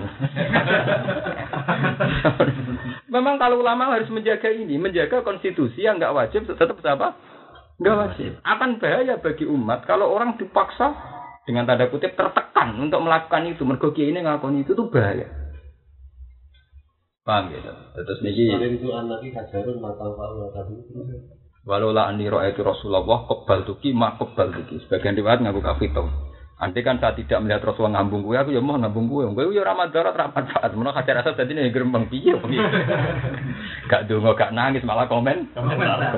Memang kalau ulama harus menjaga ini, menjaga konstitusi yang enggak wajib tetap apa? Enggak wajib. Akan bahaya bagi umat kalau orang dipaksa dengan tanda kutip tertekan untuk melakukan itu. Mergo kiai ini ngakoni itu tuh bahaya. Paham gitu. Terus niki itu anak iki kajarun matang Pak tadi. Walola anni ra'aitu Rasulullah qabbal tuki ma qabbal tuki. Sebagian riwayat ngaku kafito. Andai kan saya tidak melihat Rasulullah ngambung kuwi aku ya mau ngambung kuwi. Kuwi ya ora madarat ra manfaat. Menawa Hajar Aswad dadi nek grembeng piye piye. Gak donga gak nangis malah komentar.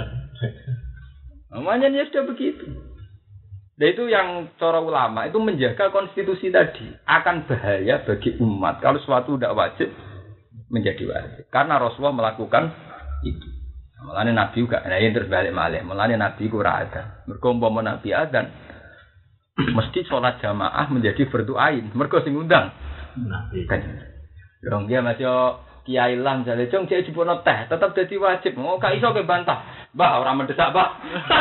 Namanya dia sudah begitu. Dan itu yang cara ulama itu menjaga konstitusi tadi akan bahaya bagi umat kalau suatu tidak wajib menjadi wajib karena Rasulullah melakukan itu. Mulane Nabi juga nah ini terus balik malih. Mulane Nabi ku ora ada. Mergo umpama Nabi adzan mesti sholat jamaah menjadi fardu ain. Mergo sing ngundang Nabi. Kan. Dong dia masih kiai lang jale cung cek dipono teh tetap dadi wajib. Oh gak iso ke bantah. Mbah ora mendesak, Mbah.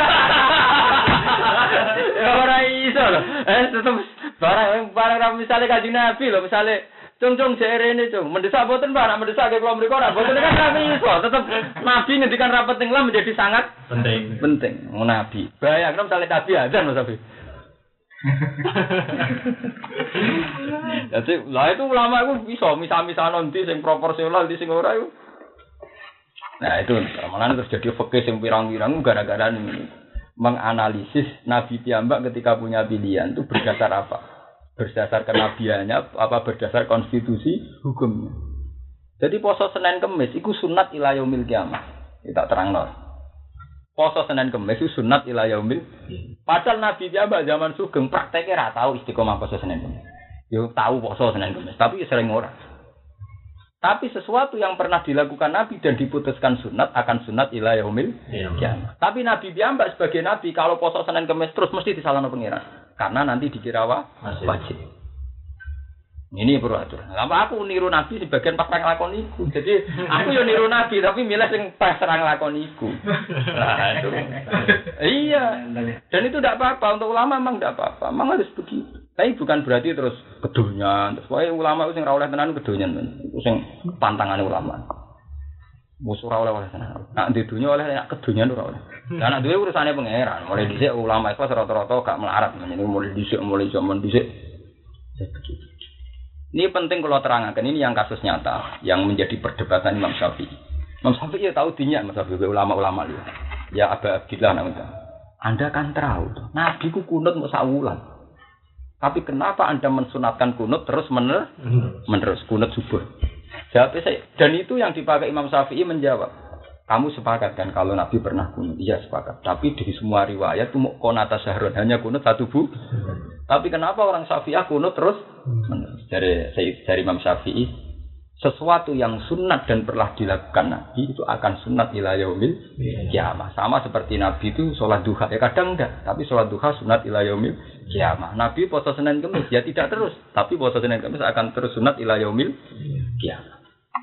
Ya ora iso lho. Tetep barang misale Kanjeng Nabi lho misale cung cek rene cung mendesak boten Mbah, nek mendesak ke kula mriku ora boten kan kami iso. Tetep Nabi ngendikan rapat ning menjadi sangat penting. Nabi. Bayangno misale Nabi azan Mas Abi. Jadi lah itu ulama itu bisa misah-misah nanti sing proporsional di sing ora itu. Nah itu malah terus jadi fikih sing pirang-pirang gara-gara ini menganalisis Nabi piyambak ketika punya pilihan itu berdasar apa? Berdasar kenabiannya apa berdasar konstitusi hukumnya. Jadi poso Senin Kemis itu sunat ila yaumil kiamah. Kita terangno. Poso Senin Kemis itu sunat ila yaumil. Padahal Nabi piyambak zaman sugeng prakteknya ra tahu istiqomah poso Senin Kemis. Yo tahu poso Senin Kemis, tapi sering ora. Tapi sesuatu yang pernah dilakukan Nabi dan diputuskan sunat akan sunat ila yaumil kiamah. Tapi Nabi piyambak sebagai Nabi kalau poso Senin Kemis terus mesti disalahno pengiran. Karena nanti dikira wajib. Ini peraturan. Lama aku niru Nabi sebagian pas nglakon iku. Jadi aku yo niru Nabi tapi milih sing pas nglakon iku. Nah, itu. Iya. Dan itu tidak apa-apa untuk ulama memang tidak apa-apa. Memang harus begitu. Tapi bukan berarti terus kedonyan. Terus wae ulama sing ora oleh tenan kedonyan. Iku sing pantangane ulama. Musuh ora oleh tenan. Nak di dunya oleh nek kedonyan ora oleh. Lah nek duwe urusane pangeran. Mulai dhisik ulama iku rata-rata gak melarat. Mulai dhisik mulai zaman dhisik. Begitu. Ini penting kalau terangkan, ini yang kasus nyata yang menjadi perdebatan Imam Syafi'i. Imam Syafi'i ya tahu dinya Imam Syafi'i ulama-ulama dia. Ya Aba Abdillah namanya. Anda kan tahu, Nabi ku kunut mau sawulan. Tapi kenapa Anda mensunatkan kunut terus menerus kunut subuh? Jawabnya saya, dan itu yang dipakai Imam Syafi'i menjawab. Kamu sepakat kan kalau Nabi pernah kunut? Iya sepakat. Tapi di semua riwayat itu konata syahrun hanya kunut satu bu. Tapi kenapa orang Syafi'ah kunut terus? Dari Imam Syafi'i, sesuatu yang sunat dan pernah dilakukan Nabi itu akan sunat ila yaumil kiamah. Sama seperti Nabi itu sholat duha. Ya kadang enggak, tapi sholat duha sunat ila yaumil kiamah. Nabi puasa Senin Kemis ya tidak terus, tapi puasa Senin Kemis akan terus sunat ila yaumil kiamah.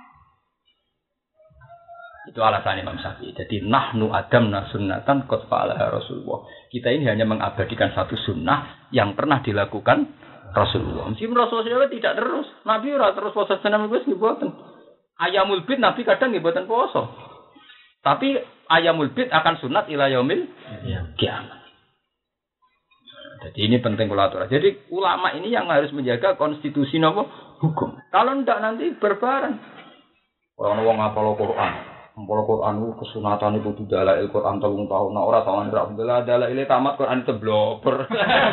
Itu alasan Imam Syafi'i. Jadi nahnu adamna sunnatan qad fa'alaha Rasulullah. Kita ini hanya mengabadikan satu sunnah yang pernah dilakukan Rasulullah. Meskipun Rasulullah tidak terus. Nabi ora terus puasa Senin Kemis nggih boten. Ayamul bid Nabi kadang nggih boten puasa. Tapi ayamul bid akan sunat ila yaumil kiamah. Jadi ini penting kula atur. Jadi ulama ini yang harus menjaga konstitusi napa hukum. Kalau ndak nanti berbareng. Wong ngapal Quran.Mpol Quran itu kesunatan itu dalail Quran 3 tahun. Nah ora tau alhamdulillah dalail tamat Quran tebloper.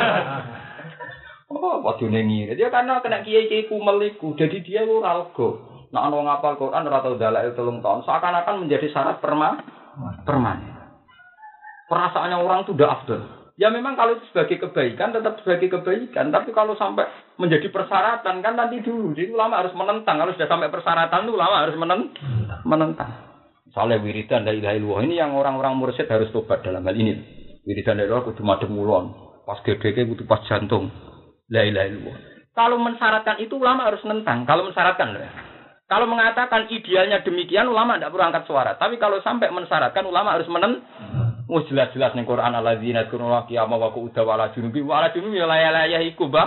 Oh, padune ngire. Dia karena kena kiai-kiai kumel iku. Jadi dia ora lega. Nek ana wong ngapal Quran ora tau dalail 3 tahun, seakan-akan menjadi syarat permanen. Perasaannya orang itu udah afdal. Ya memang kalau itu sebagai kebaikan tetap sebagai kebaikan, tapi kalau sampai menjadi persyaratan kan nanti dulu. Jadi ulama harus menentang. Kalau sudah sampai persyaratan ulama harus menentang. Soalnya wiridan la ilaha illallah ini yang orang-orang mursyid harus tobat dalam hal ini. Wiridan la ilaha kudu madhep ngulon, pas gedeke kudu pas jantung. La ilaha illallah. Kalau mensyaratkan itu ulama harus nentang. Kalau mensyaratkan loh. Kalau mengatakan idealnya demikian ulama tidak perlu angkat suara. Tapi kalau sampai mensyaratkan ulama harus jelas-jelas ning Quran alladzina yadhkuruna qiyama wa qu'udan wa ala junubi ya la iku, Mbah.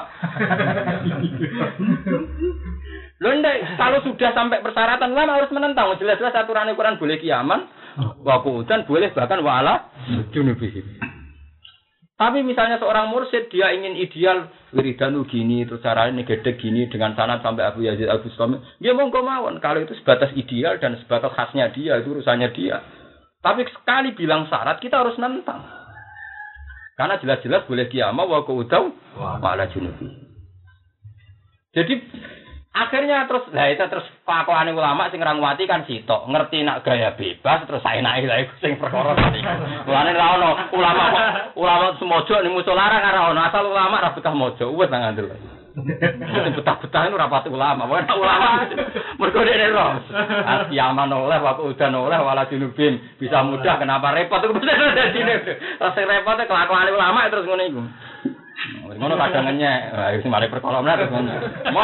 Lho ndek, kalau sudah sampai persyaratan ulama harus menentang. Jelas-jelas aturan Quran boleh kiaman, wa qu'udan boleh bahkan wa ala junubi. Tapi misalnya seorang mursyid dia ingin ideal wiridan gini, terus caranya gede gini dengan sanad sampai Abu Yazid Al-Bustami, dia monggo mawon. Kalau itu sebatas ideal dan sebatas khasnya dia, itu urusannya dia. Tapi sekali bilang syarat kita harus nentang. Karena jelas-jelas boleh kiamah wa qaudau wa ala junubi. Jadi akhirnya terus pakoane ulama sing ngrawati kan sitok, ngerti nak gaya bebas terus saenake lha iku sing perkara tadi. Mulane ra ono ulama semojo ning musala ra ono, asal ulama ra betah mojo, wis nang ngandel. Sing betah-betah itu ra pati ulama, ulama mergo dene ro. Asiaman oleh waktu udan oleh wala junubin, bisa mudah kenapa repot itu dadine. Rasa repot kelakuan ulama terus ngono iku. Ngono kadang ngenyek, sing mari perkara menar terus ngono.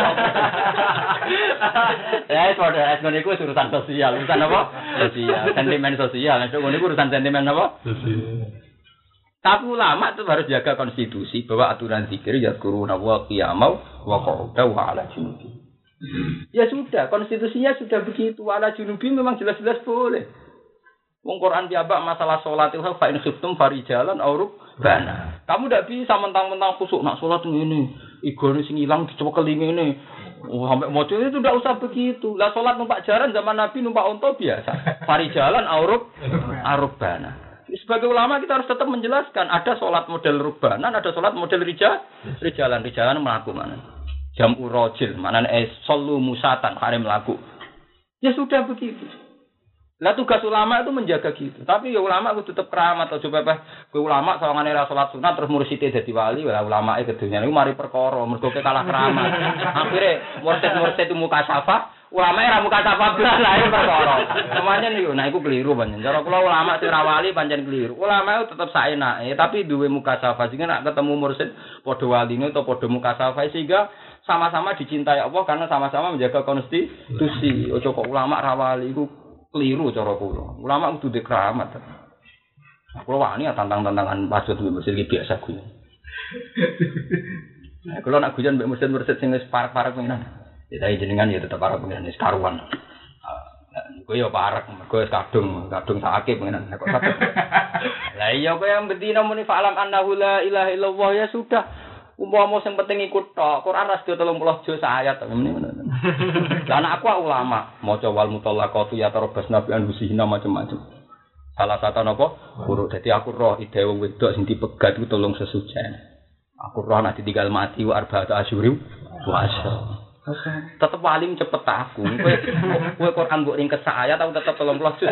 Ya padha ngono iku urusan sosial, urusan apa? Sosial, sentimen sosial. Nek ngono iku urusan sentimen apa? Sosial. Tapi ulama itu harus jaga konstitusi bahwa aturan zikir yazkuruna wa qiyamau wa qu'udan wa ala junubi. Ya sudah, konstitusinya sudah begitu. Ala junubi memang jelas-jelas boleh. Wong Quran piyambak masalah salat itu fa in khiftum farijalan aw rukbana. Kamu ndak bisa mentang-mentang khusuk nak salat ngene. Igone sing ilang dicekel ngene. Oh, sampai mojo itu ndak usah begitu. Lah salat numpak jaran zaman Nabi numpak unta biasa. Farijalan aw rukbana. Sebagai ulama kita harus tetap menjelaskan ada sholat model rubanan, ada sholat model rijalan melaku mana. Jam'u rajil, mana solu musatan, hari melaku. Ya sudah begitu. Lah tugas ulama itu menjaga gitu. Tapi ya ulama itu tetap keramat atau coba ulama sawangane ra salat sunat terus mursite dadi wali, lah ulama e kedunya niku mari perkara, mergo kalah keramat. Akhire mursid itu muka syafa. Ulama ra muka sapa blas lae perkara. Semuanya niku nah iku keliru pancen. Cara kula ulama sing ra wali pancen keliru. Ulama tetep saenake tapi duwe muka sapa sehingga nek ketemu mursid padha waline atau padha muka sapa sehingga sama-sama dicintai Allah karena sama-sama menjaga konstitusi. Ojo kok ulama ra wali iku keliru cara kula. Ulama kudu dikeramat. Kula wani tantang-tantangan maksud mursid iki biasa kuwi. Nah, kula nak guyon mbek mursid-mursid sing wis parek-parek menan. Ya jenengan ya tetep para pengen karuan. Kowe yo parek, kowe kadung sakake pengen kok sakit. Lah iya kowe yang bedina muni fa'lam annahu la ilaha illallah ya sudah. Umpama sing penting ikut tok. Quran ra 30 juz ayat ngene ngono. Lah anak aku ulama, maca wal mutallaqatu ya tarabbas nabi an husina macam-macam. Salah satu napa? Guru. Dadi aku roh ide wong wedok sing dipegat iku tolong sesujen. Aku roh nek ditinggal mati wa arba'atu asyuri puasa. Tetep paling cepet aku. Kowe Quran mbok ringkes ayat aku tetep 30 juz.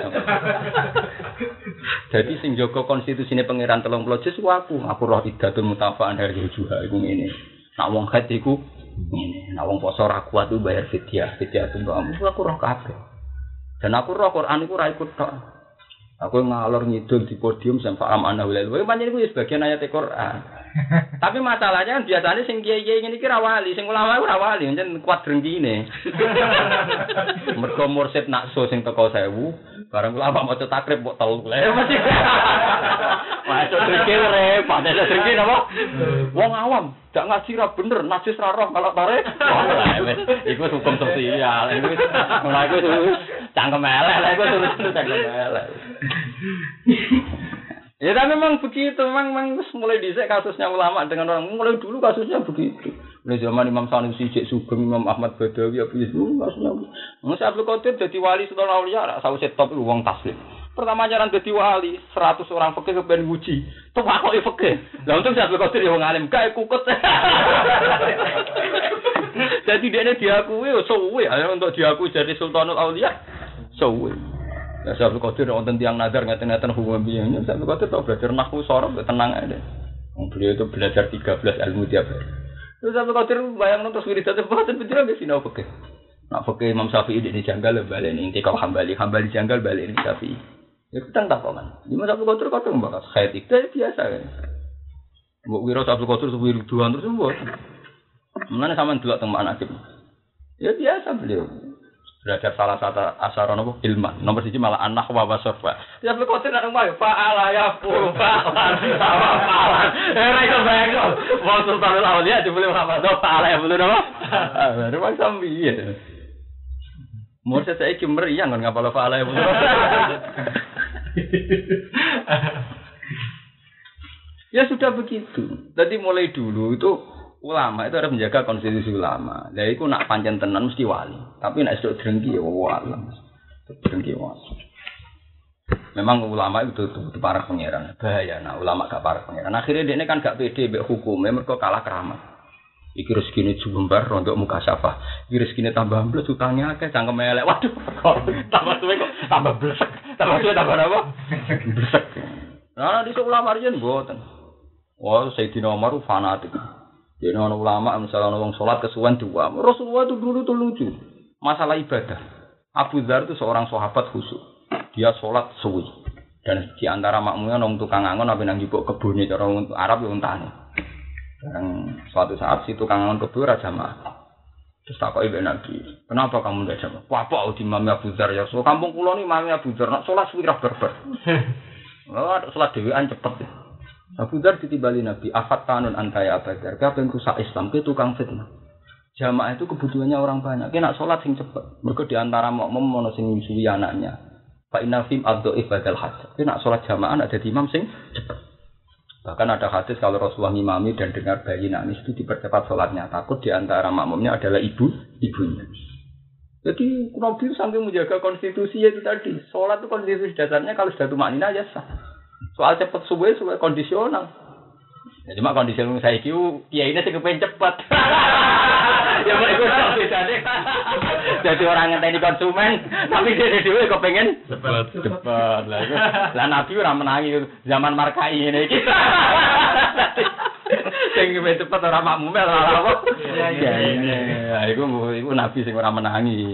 Jadi sing jaga konstitusine pangeran 30 juz ku aku. Aku roh idatul mutafa'an dari juha iku ngene. Nak wong haid iku ngene. Nak wong poso ra kuat ku bayar fidyah. Fidyah untuk aku roh kabeh. Dan aku roh Quran iku ra ikut tok. Aku ngalor ngidul di podium sampai alam anahu lalu. Pancen iku ya sebagian ayat Quran. Tapi masalahnya kan biasanya sing kiai-kiai ngene iki ra wali, sing ulama ora wali, pancen kuat drengkine. Mergo mursid nakso sing teko 1000, bareng ulama maca takrib kok 3. Mesti. Maca drengkine repot, ada drengkine apa? Wong awam, gak ngaji ra bener, najis ra roh kalau tarik. Iku hukum sosial. Iku cangkem elek, iku terus cangkem elek. Ya tapi memang begitu, memang mulai dhisik kasusnya ulama dengan orang mulai dulu kasusnya begitu. Mulai zaman Imam Sanusi, Cek Sugeng, Imam Ahmad Badawi, Abu Yazid kasusnya. Musa Abdul Qadir jadi wali Sultan Aulia, sausé top wong taslim. Pertama jaran jadi wali, 100 orang fikih kepen nguji. Tuh kok fikih. Lah untung Abdul Qadir ya wong alim, gak kukut. Jadi dia diakui suwe, untuk diakui jadi Sultanul Aulia suwe. Ya Abdul Qadir wonten tiyang nazar ngaten-ngaten hukum biyane. Abdul Qadir tau belajar nahwu sorab tenang aja. Beliau itu belajar 13 ilmu tiap hari. Terus Abdul Qadir bayang terus wiridan boten pinter nggih sinau fikih. Nak fikih Imam Syafi'i di janggal balik inti kau Hambali janggal balik ini Syafi'i. Ya kita takongan. Imam Abdul Qadir kadang bahas khair itu biasa kan. Mbok wira Abdul Qadir wiridan terus mbok. Mulane sampean delok teng Ma'naqib. Ya biasa beliau. Belajar salah satu asaran apa ilman nomor 1 malah anak wa wasofa ya Abdul Qadir nang omah fa'ala ya fa'ala fa'ala era iku bayang wong Sultanul Aulia dibeli Muhammad fa'ala ya bener apa baru wong sambi mursyid saiki meriang kan ngapal fa'ala ya bener ya sudah sudah begitu. Jadi mulai dulu itu ulama itu harus menjaga konstitusi ulama. Lah iku nak pancen tenan mesti wali. Tapi nek sedok drengki ya wali. Drengki wali. Memang ulama itu para pangeran. Bahaya nak ulama gak para pangeran. Akhirnya dia kan gak pede mbek hukume mergo kalah keramat. Iki rezekine jumbar untuk muka syafa. Iki rezekine tambah ambles utangnya akeh cangkem elek. Waduh. Tambah suwe kok tambah blesek. Tambah suwe tambah apa? Blesek. Nah, di ulama riyen mboten. Oh, Sayyidina Umar fanatik. Dene ana ulama misalnya wong salat kesuwen dua. Rasulullah itu dulu tuh lucu. Masalah ibadah. Abu Dzar itu seorang sahabat khusyuk. Dia salat suwi. Dan di antara makmumnya nang tukang angon apa nang njupuk kebune cara Arab yo untane. Dan suatu saat si tukang angon kebun ora jamaah. Terus takoki mbek Nabi, "Kenapa kamu ndak jamaah?" "Wah, apa di Imam Abu Dzar ya? So kampung kula ni Imam Abu Dzar nak salat suwi ra berber." Oh, salat dhewean cepet. Abu Dzar ditibali Nabi, "Afat tanun antaya Abu Dzar, kabeh rusak Islam ke tukang fitnah." Jamaah itu kebutuhannya orang banyak. Ki nak salat sing cepet. Mergo di antara makmum ono sing nyusui anaknya. Fa inna fim ad-dhaif badal hajj. Ki nak salat jamaah ada di imam sing cepet. Bahkan ada hadis kalau Rasulullah ngimami dan dengar bayi nangis itu dipercepat sholatnya. Takut di antara makmumnya adalah ibunya. Jadi Nabi sambil menjaga konstitusi itu tadi. Sholat itu konstitusi dasarnya kalau sudah tumaknina ya sah. Soal cepat subuh kondisional. Ya cuma kondisional saya itu ya ini sih kepengen cepat. Ya mereka beda deh. Jadi orang ngenteni konsumen, tapi dia dhewe kok pengen cepat. Lah Nabi ora menangi zaman markai ngene iki. Sing cepet ora makmum ora apa. Ya iku Nabi sing ora menangi.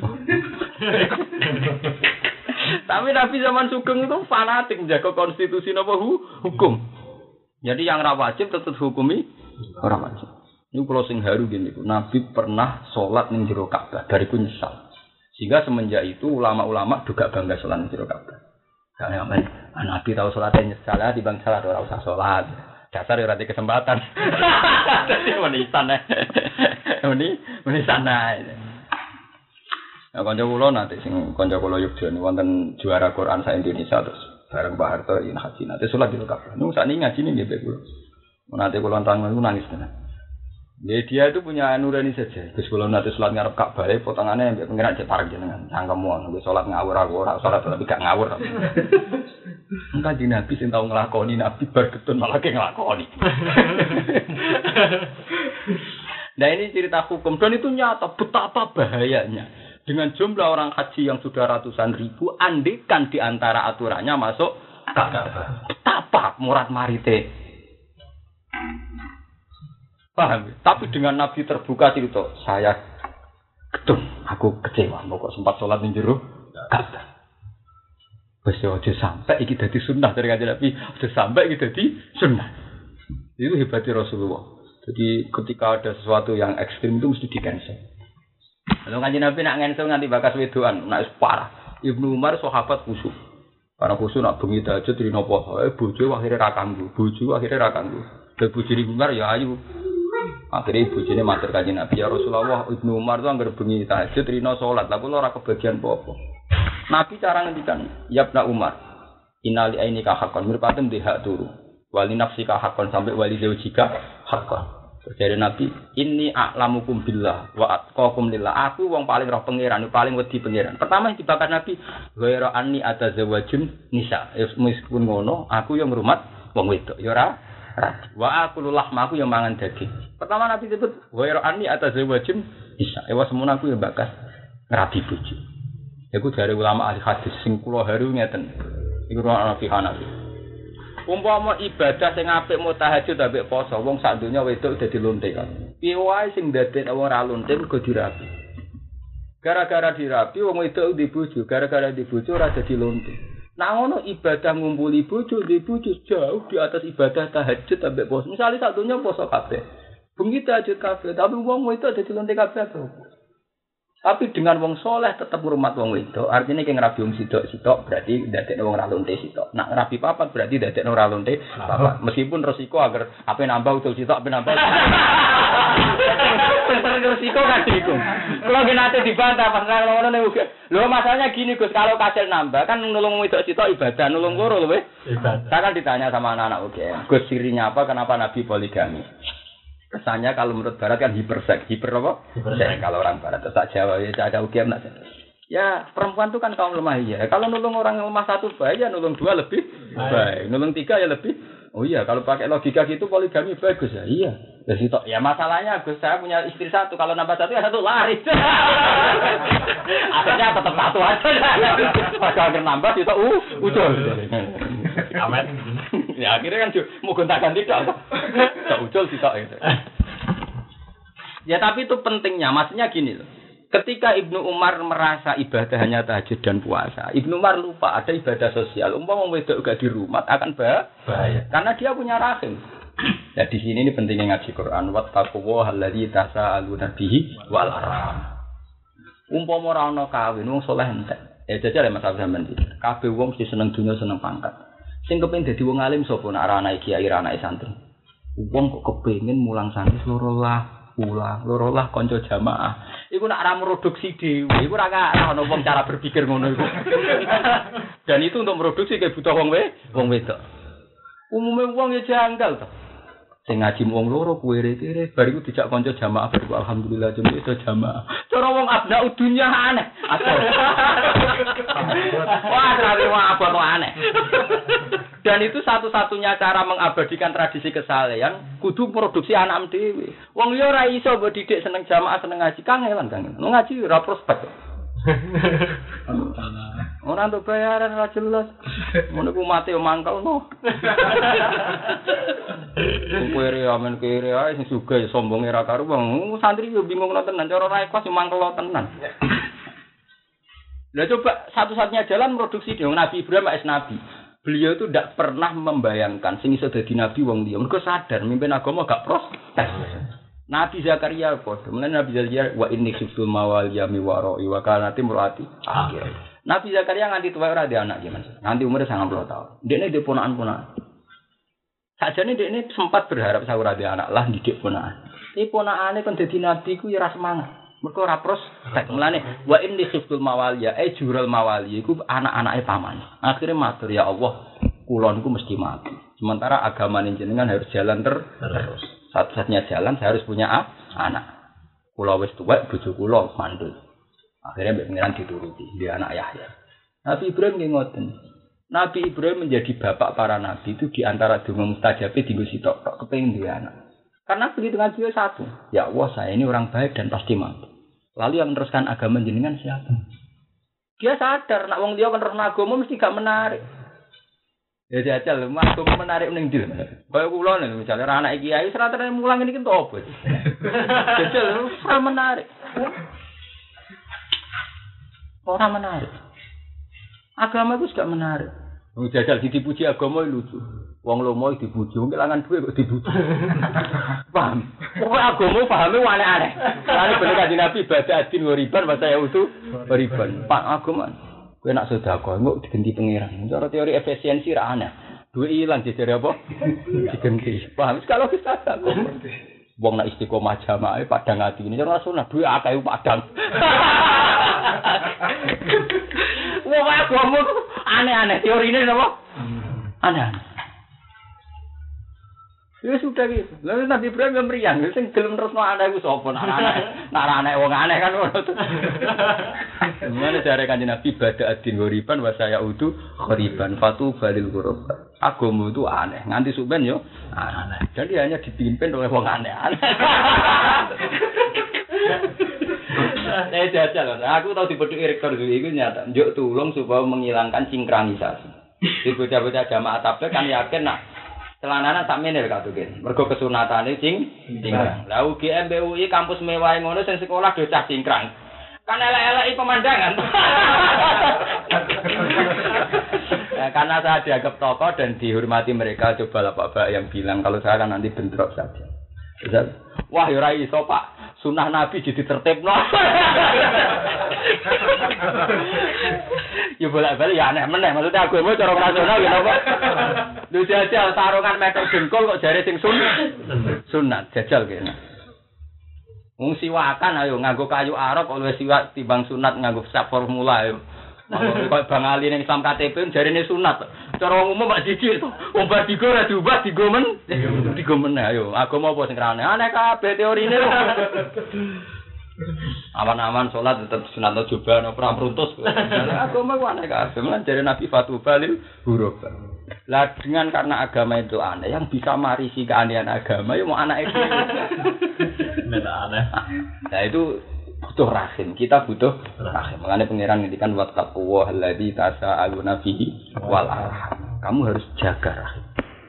Tapi Nabi zaman Sugeng itu fanatik menjaga konstitusi napa hukum. Jadi yang ora wajib tetep hukumi ora wajib. Ini kalau sing haru gini, Nabi pernah sholat ning jero Ka'bah dari nyesal. Sehingga semenjak itu ulama-ulama juga bangga sholat ning jero Ka'bah. Karena Nabi tahu sholatnya nyesal di bang salat ora usah sholat. Dasar ora di kesempatan. Dadi menisan menisan ae. Ya kanca kula nanti sing kanca kula Yogyakarta niku wonten juara Quran sa Indonesia terus bareng Pak Harto yen haji nanti sholat di Ka'bah. Niku sakniki ngajine nggih Pak kula. Nanti kula nang nangis tenan. Dia itu punya nurani saja. Gus kula nate salat ngarep Ka'bah, potongane mbek pengiran cek parek jenengan. Cangkemmu nggih salat ngawur aku ora salat tapi gak ngawur. Engka di Nabi sing tau nglakoni Nabi bar ketun malah ke nglakoni. Nah ini cerita hukum dan itu nyata betapa bahayanya. Dengan jumlah orang haji yang sudah ratusan ribu, andekan di antara aturannya masuk Ka'bah. Betapa murad marite. Paham? Tapi dengan Nabi terbuka cerita, saya gedung, aku kecewa, kok sempat sholat di jero Ka'bah. Wis aja sampai iki dadi sunnah dari kanjeng Nabi, aja sampai iki dadi sunnah. Itu hebatnya Rasulullah. Jadi ketika ada sesuatu yang ekstrim itu mesti di-cancel. Lalu kanjeng Nabi nak cancel nganti bakas wedoan, nak parah. Ibnu Umar sahabat khusyuk. Karena khusyuk nak bengi tahajud rino poso, bojo akhire ra kanggo, Lah bojone Umar ya ayu. Akhirnya ibu jene matur kanjeng Nabi ya Rasulullah, Ibnu Umar itu anggar bengi tahajud rino salat, lha kula ora kebagian apa-apa. Nabi cara ngendikan, ya Ibnu Umar, innali ainika haqqan, mirpaten di hak turu. Wali nafsika haqqan sampai wali zawjika haqqan. Jadi Nabi, inni a'lamukum billah wa atqakum lillah. Aku wong paling roh pangeran, paling wedi pangeran. Pertama yang dibakar Nabi, ghaira anni atazawwajun nisa. Meskipun ngono, aku yang ngrumat wong wedok. Ya ora wa aqulu lahma, aku yang mangan daging. Pertama Nabi sebut ghaira anni atazawwajun nisa. Ewa semono aku yang bakas ngrabi bojo. Iku dari ulama ahli hadis sing kula haru ngeten. Iku ana fi Hanafi. Umpama ibadah sing apik mau tahajud ambek poso, wong sak donya wedok dadi lonte kan. Piye wae sing dadekne wong ra lonte mergo dirapi. Gara-gara dirapi wong wedok di bojo, gara-gara di bojo ora dadi lonte. Nah ngono ibadah ngumpuli bojo, di bojo jauh di atas ibadah tahajud ambek poso. Misale sak donya poso kabeh. Bengi tahajud kabeh, tapi wong wedok dadi lonte kabeh. Tapi dengan wong soleh tetap ngurmat wong wedok, artinya kayak ngerabi wong sidok berarti dadekno wong ra lonte sidok. Nak ngerabi papat berarti dadekno ra lonte papat. Meskipun resiko agar apa nambah utul sidok, apa nambah. Resiko kan iku. Kalau nate dibantah pas ngono niku. Lho masalahnya gini Gus, kalau kasil nambah kan nulung wedok sidok ibadah, nulung loro lho weh. Ibadah. Saya kan ditanya sama anak-anak UGM, Gus sirinya apa, kenapa Nabi poligami? Kesannya kalau menurut Barat kan hiper apa? Hiperseks. Kalau orang Barat tetap Jawa ya ada UGM nak. Ya perempuan itu kan kaum lemah ya. Kalau nulung orang lemah satu baik ya nulung dua lebih baik. Nulung tiga ya lebih. Oh iya kalau pakai logika gitu poligami bagus ya. Iya. Ya masalahnya Gus saya punya istri satu. Kalau nambah satu ya satu lari. Akhirnya tetap satu aja. Kalau nambah itu ucul. Amin. Ya akhirnya kan mau gonta-ganti tidak. Tak ucul sih tak itu. Ya tapi itu pentingnya, maksudnya gini loh. Ketika Ibnu Umar merasa ibadah hanya tahajud dan puasa, Ibnu Umar lupa ada ibadah sosial. Umpama wedok gak di rumah akan bahaya. Karena dia punya rahim. Ya di sini ini pentingnya ngaji Quran. Wattaqullaha allazi tasaaluna bihi wal arham. Umpama ora ana kawin wong saleh entek. Ya jajal Mas sampean iki. Kabeh wong mesti seneng dunya seneng pangkat. Sing kepengin dadi wong alim sapa nek ora anake kiai ora anake santri. Wong kok kepengin mulang santri loro lah kanca jamaah. Iku nek ora produksi dhewe, iku ora ana wong cara berpikir ngono iku. Dan itu untuk produksi kayak butuh wong wedok. Umume wong ya janggal to. Sing ngaji wong loro kuwere-kere bariku dijak kanca jamaah bariku alhamdulillah jam itu jamaah. Cara wong abna dunya aneh. Wah, terlalu abot aneh. Dan itu satu-satunya cara mengabadikan tradisi kesalehan kudu produksi anak dhewe. Wong liya ora iso mbok didik seneng jamaah seneng ngaji kangelan. Ngaji ora prospek. Ora untuk bayaran ora jelas. Ngono ku mate yo mangkelno. Kuwere amen kere ae sing sugih sombonge ra karuang. Santri yo bingung tenan cara ra ikhlas yo mangkel tenan. Lah coba satu-satunya jalan produksi dong Nabi Ibrahim es nabi. Beliau itu tidak pernah membayangkan sing iso dadi nabi wong liya. Mergo sadar mimpin agama gak protes. Nabi Zakaria padha. Mulane Nabi Zakaria wa inni khiftul mawaliya mi wara'i wa kanati murati. Akhir. Nabi Zakaria nganti tuwa ora ada anak gimana? Nganti umure 90 tahun. Dekne dhe ponakan-ponakan. Sajane dekne sempat berharap saya ora ada anak lah didik ponakan. Iki ponakane kon dadi nabi ku ya ora semangat. Mergo ora prospek. Mulane wa inni khiftul mawaliya jurul mawaliya iku anak-anake paman. Akhire matur ya Allah, kula niku mesti mati. Sementara agama jenengan harus jalan terus. Satu-satunya jalan saya harus punya anak. Kula wis tuwek bojo kula mandul. Akhirnya mbek pengiran dituruti dia anak Yahya. Nabi Ibrahim nggih ngoten. Nabi Ibrahim menjadi bapak para nabi itu di antara donga mustajabe dienggo sitok tok kepengin dia anak. Karena perhitungan beliau satu. Ya Allah, saya ini orang baik dan pasti mati. Lalu yang meneruskan agama jenengan siapa? Dia sadar nak wong liya kan terus agama mesti gak menarik. Ya jajal, agama menarik ning ndi. Kaya kula nek misale anak iki ayu serata mulang iki entuk opo. Jajal ora menarik. Ora menarik. Agama itu gak menarik. Wong jajal dipuji agama lucu. Wong lomo dipuji, wong kelangan duwe kok dipuji. Paham? Pokoke agama pahame aneh-aneh. Lan bener kanjeng Nabi ibadah adin ngoriban bahasa ya utuh ngoriban. Pak agama. Kowe nak sedekah engko digenti pangeran. Cara teori efisiensi ra aneh. Duwe ilang jejere apa? Digenti. Paham? Kalau kita tak. Wong nak istiqomah jamaah padang atine cara sunah duwe akeh padang. Wong agama aneh-aneh teorine napa? Aneh-aneh. Ya sudah gitu. Lalu Nabi Ibrahim meriang, sing gelem terusno anak iku sapa? Anak wong aneh kan ngono. Mulane jare Kanjeng Nabi bada adin ghoriban wa saya udu ghoriban fatu balil ghurab. Agama itu aneh, nganti suben yo aneh. Jadi hanya dipimpin oleh wong aneh-aneh. Jajal, aku tahu dipethuk rektor iku nyata. Njuk tulung supaya menghilangkan sinkronisasi. Di bocah-bocah jamaah tabligh kan yakin nak celananan sak meneh katuken. Mergo kesunatane cingkrang. Lah UGM BUI kampus mewah ngono sing sekolah do cah cingkrang. Kan elek-eleki pemandangan. Ya, karena saya dianggap tokoh dan dihormati mereka, coba lah Pak yang bilang kalau saya kan nanti bentrok saja. Wah ya ora iso Pak. sunah Nabi jadi tertibno. Ya bolak-balik ya aneh meneh. Maksudnya agama cara rasional ya apa? Lho jajal sarungan meter jengkol kok jare sing sunat. Jajal kene. Wong siwakan ayo nganggo kayu arok kok luwih siwak timbang sunat nganggo sak formula ayo. Kok Bang Ali ning Islam KTP jarene sunat. Cara wong umum mak jijik to. Wong bar digo ora diubah digo men ayo. Agama apa sing rane? Aneh kabeh teorine. Aman-aman salat tetep sunat coba ana perang pruntus. Agama ku aneh kabeh. Lan jare Nabi Fatu Balil huruf. Lah dengan karena agama itu aneh yang bisa marisi keanehan agama ya mau anak itu. Aneh. Nah itu butuh rahim. Kita butuh rahim. Makanya pangeran ngendikan wattaqwa alladzi tasaaluna fihi wal arham. Kamu harus jaga rahim.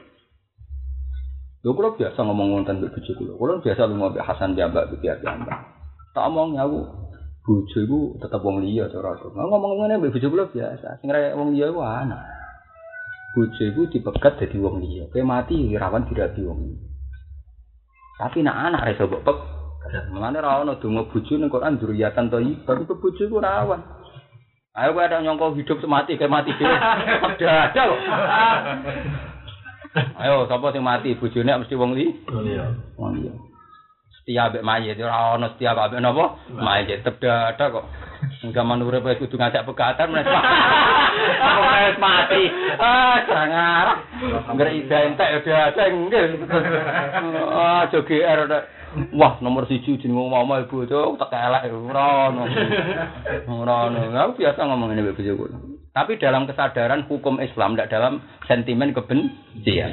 Lho kula biasa ngomong wonten mbek bojo kula. Kula biasa lunga mbek Hasan Jambak mbek Jambak. Tak omong aku bojo iku tetep wong liya cara aku. Ngomong ngene mbek bojo kula biasa. Sing rek wong liya iku ana. Bojo iku dipegat dadi wong liya. Kowe mati rawan dirabi wong liya. Tapi nek anak iso mbok pek. Mengane ra ono donga bojo ning Quran dzurriyatan thayyibah iku bojo iku rawan. Ayo kowe ada nyongko hidup semati kayak mati dhewe. Ada kok. Ayo sapa sing mati bojone mesti wong liya. Wong liya. Setia mbek mayit ora ono setia mbek napa? Mayit tetep ada kok. Zaman urip kudu ngajak pegatan menes mati. Serang arah. Ngger identik udah ada nggih. GR wah nomor 1 jeneng omah ibu tak elek ora ono. Aku biasa ngomong ngene mbek bojoku. Tapi dalam kesadaran hukum Islam, tidak dalam sentimen kebencian.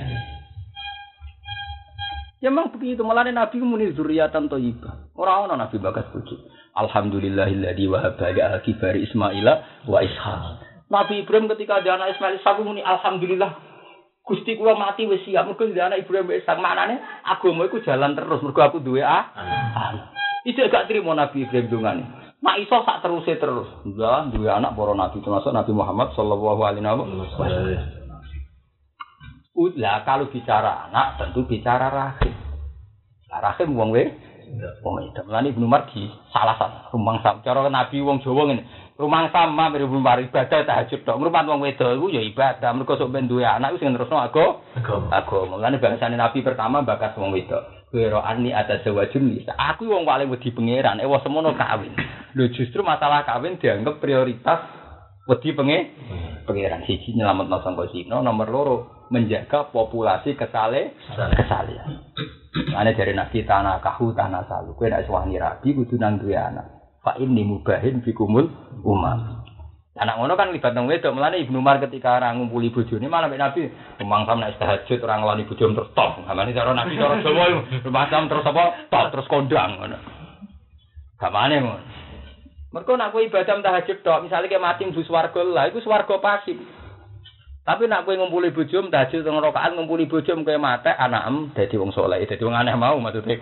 Ya memang begitu, malah Nabi muni dzurriyatan thayyibah. Ora ono Nabi bagas bojo. Alhamdulillahilladzi wahaba li al-kibari Ismaila wa Ishaq. Nabi Ibrahim ketika ada anak Ismail Ishaq muni alhamdulillah. Gusti kula mati wis siap mergo ndek anak Ibrahim Ishaq. Maknane agama iku jalan terus mergo aku duwe Ijek gak trimo Nabi Ibrahim dongane. Mak iso sak teruse terus. Lah duwe anak para nabi termasuk Nabi Muhammad sallallahu alaihi wasallam. Lah kalau bicara anak tentu bicara rahim. Lah rahim wong itu. Mulane Ibnu Mardi salah satu rumangsa cara Nabi wong Jawa ngene. Rumangsa mirip ibadah tahajud tok. Ngrumat wong wedok iku ya ibadah. Mergo sok ben duwe anak iku sing nerusno agama. Mulane bangsane Nabi pertama bakas wong wedok. Wero ani atazawajun nisa. Aku wong paling wedi pangeran. Wong semono kawin. Lho justru masalah kawin dianggap prioritas wedi pangeran. Siji nyelametno sangka zina, nomor loro menjaga populasi kesalehan. Ane dari Nabi tanah kahu tanah salu. Kowe nek suwani rabi kudu nang duwe anak. Fa inni mubahin bikumul umam. Anak ngono kan libat nang wedok. Mulane Ibnu Umar ketika ora ngumpuli bojone malah mek Nabi rumangsam nek tahajud ora ngeloni bojone terus top. Gamane cara Nabi cara Jawa rumangsam terus apa? Top terus kondang ngono. Gamane ngono. Mergo nek kowe ibadah tahajud tok, misale ke mati mlebu swarga lah iku swarga pasif. Tapi nek kowe ngumpuli bojo tahajud teng rakaat ngumpuli bojo kowe mate anakem dadi wong saleh, dadi wong aneh mau maksudnya.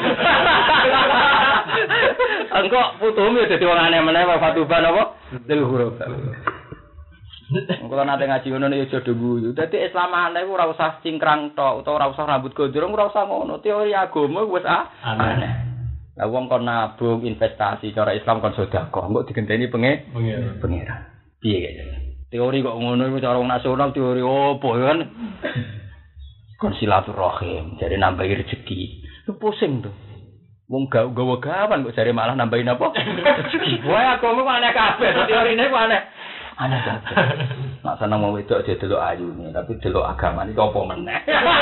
Engko putumu dadi wong aneh meneh fatuban apa? Dil huruf. Engko nate ngaji ngono ya aja guyu. Dadi Islam aneh ora usah cingkrang tok utawa ora usah rambut gondrong ora usah ngono. Teori agama wis aneh. Lah wong kon nabung investasi cara Islam kon sedekah, engko digenteni pengira. Piye kaya? Teori kok ngono iku cara nasional teori opo kan? Kon silaturahim, jare nambahi rezeki. Lu pusing tuh. Wong gawa-gawan kok jare malah nambahin apa? Rezeki. Wae aku mau aneh kabeh, teorine ku aneh. Aneh kabeh. Nak seneng wong wedok aja delok ayune, tapi delok agamane apa meneh.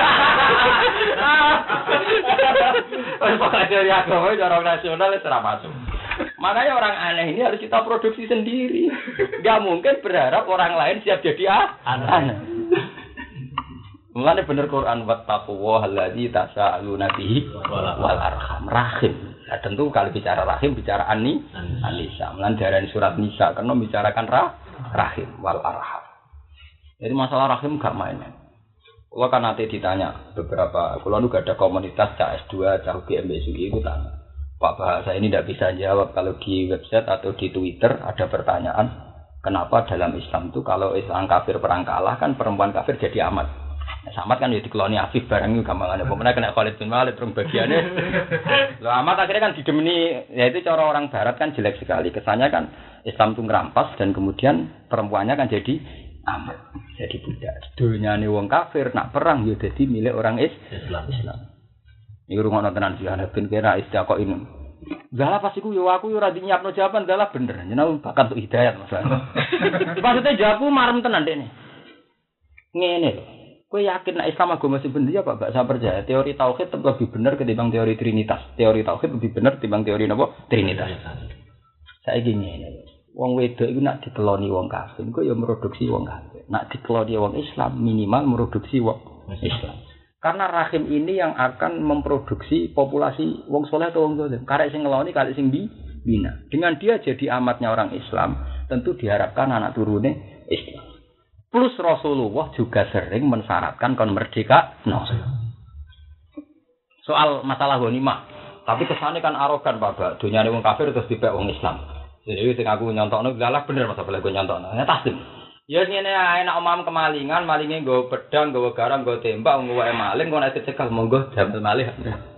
Pakai teori agama cara nasional itu ora masuk. Makanya orang aneh ini harus kita produksi sendiri. Gak mungkin berharap orang lain siap jadi aneh. Mulane bener Quran wattaqwa alladzi tasaaluna bihi wal arham. Rahim. Nah, tentu kalau bicara rahim bicara An-Nisa. Mulane darani surat Nisa karena bicarakan rahim wal arham. Jadi masalah rahim gak main. Kalau kan nanti ditanya beberapa, kalau lu gak ada komunitas CS2, cah GMBSUI itu tanya. Pak Bahasa ini tidak bisa jawab kalau di website atau di Twitter ada pertanyaan kenapa dalam Islam itu kalau Islam kafir perang kalah kan perempuan kafir jadi amat. Samad kan ya dikeloni Afif barang itu gampangane. Pemenang kena Khalid bin Walid rong bagiane. Lah amat akhirnya kan didemeni, ya itu cara orang barat kan jelek sekali. Kesannya kan Islam itu ngerampas dan kemudian perempuannya kan jadi amat, jadi budak. Dunyane wong kafir nak perang ya dadi milik orang Islam. Iku rungono tenan sih ana ben kira istiqo ini. Lah pas iku yo aku yo ora nyiapno jawaban, lah bener. Jeneng bakat untuk hidayat Mas. Maksudnya jawabku marem tenan dekne. Ngene lho. Kowe yakin nek Islam agama sing bener ya Pak? Gak saya percaya. Teori tauhid tetep lebih bener ketimbang teori trinitas. Teori tauhid lebih bener ketimbang teori napa? Trinitas. Saiki ngene. Wong wedok iku nak dikeloni wong kafir, iku ya produksi wong kafir. Nak dikeloni wong Islam minimal produksi wong Islam. Karena rahim ini yang akan memproduksi populasi wong soleh atau wong zalim. Karek sing ngeloni, karek sing bina. Dengan dia jadi amatnya orang Islam, tentu diharapkan anak turune Islam. Plus Rasulullah juga sering mensyaratkan kon merdeka. No. Soal masalah ghanimah. Tapi kesannya kan arogan Pak. Dunyane wong kafir terus dipek wong Islam. Jadi sing aku nyontokno lah bener masa boleh gue nyontokno. Ya tasdim. Ya ngene ae nek omam kemalingan, malinge nggo pedang, nggo garam, nggo tembak, nggo wae maling kok nek dicekal monggo jambel malih.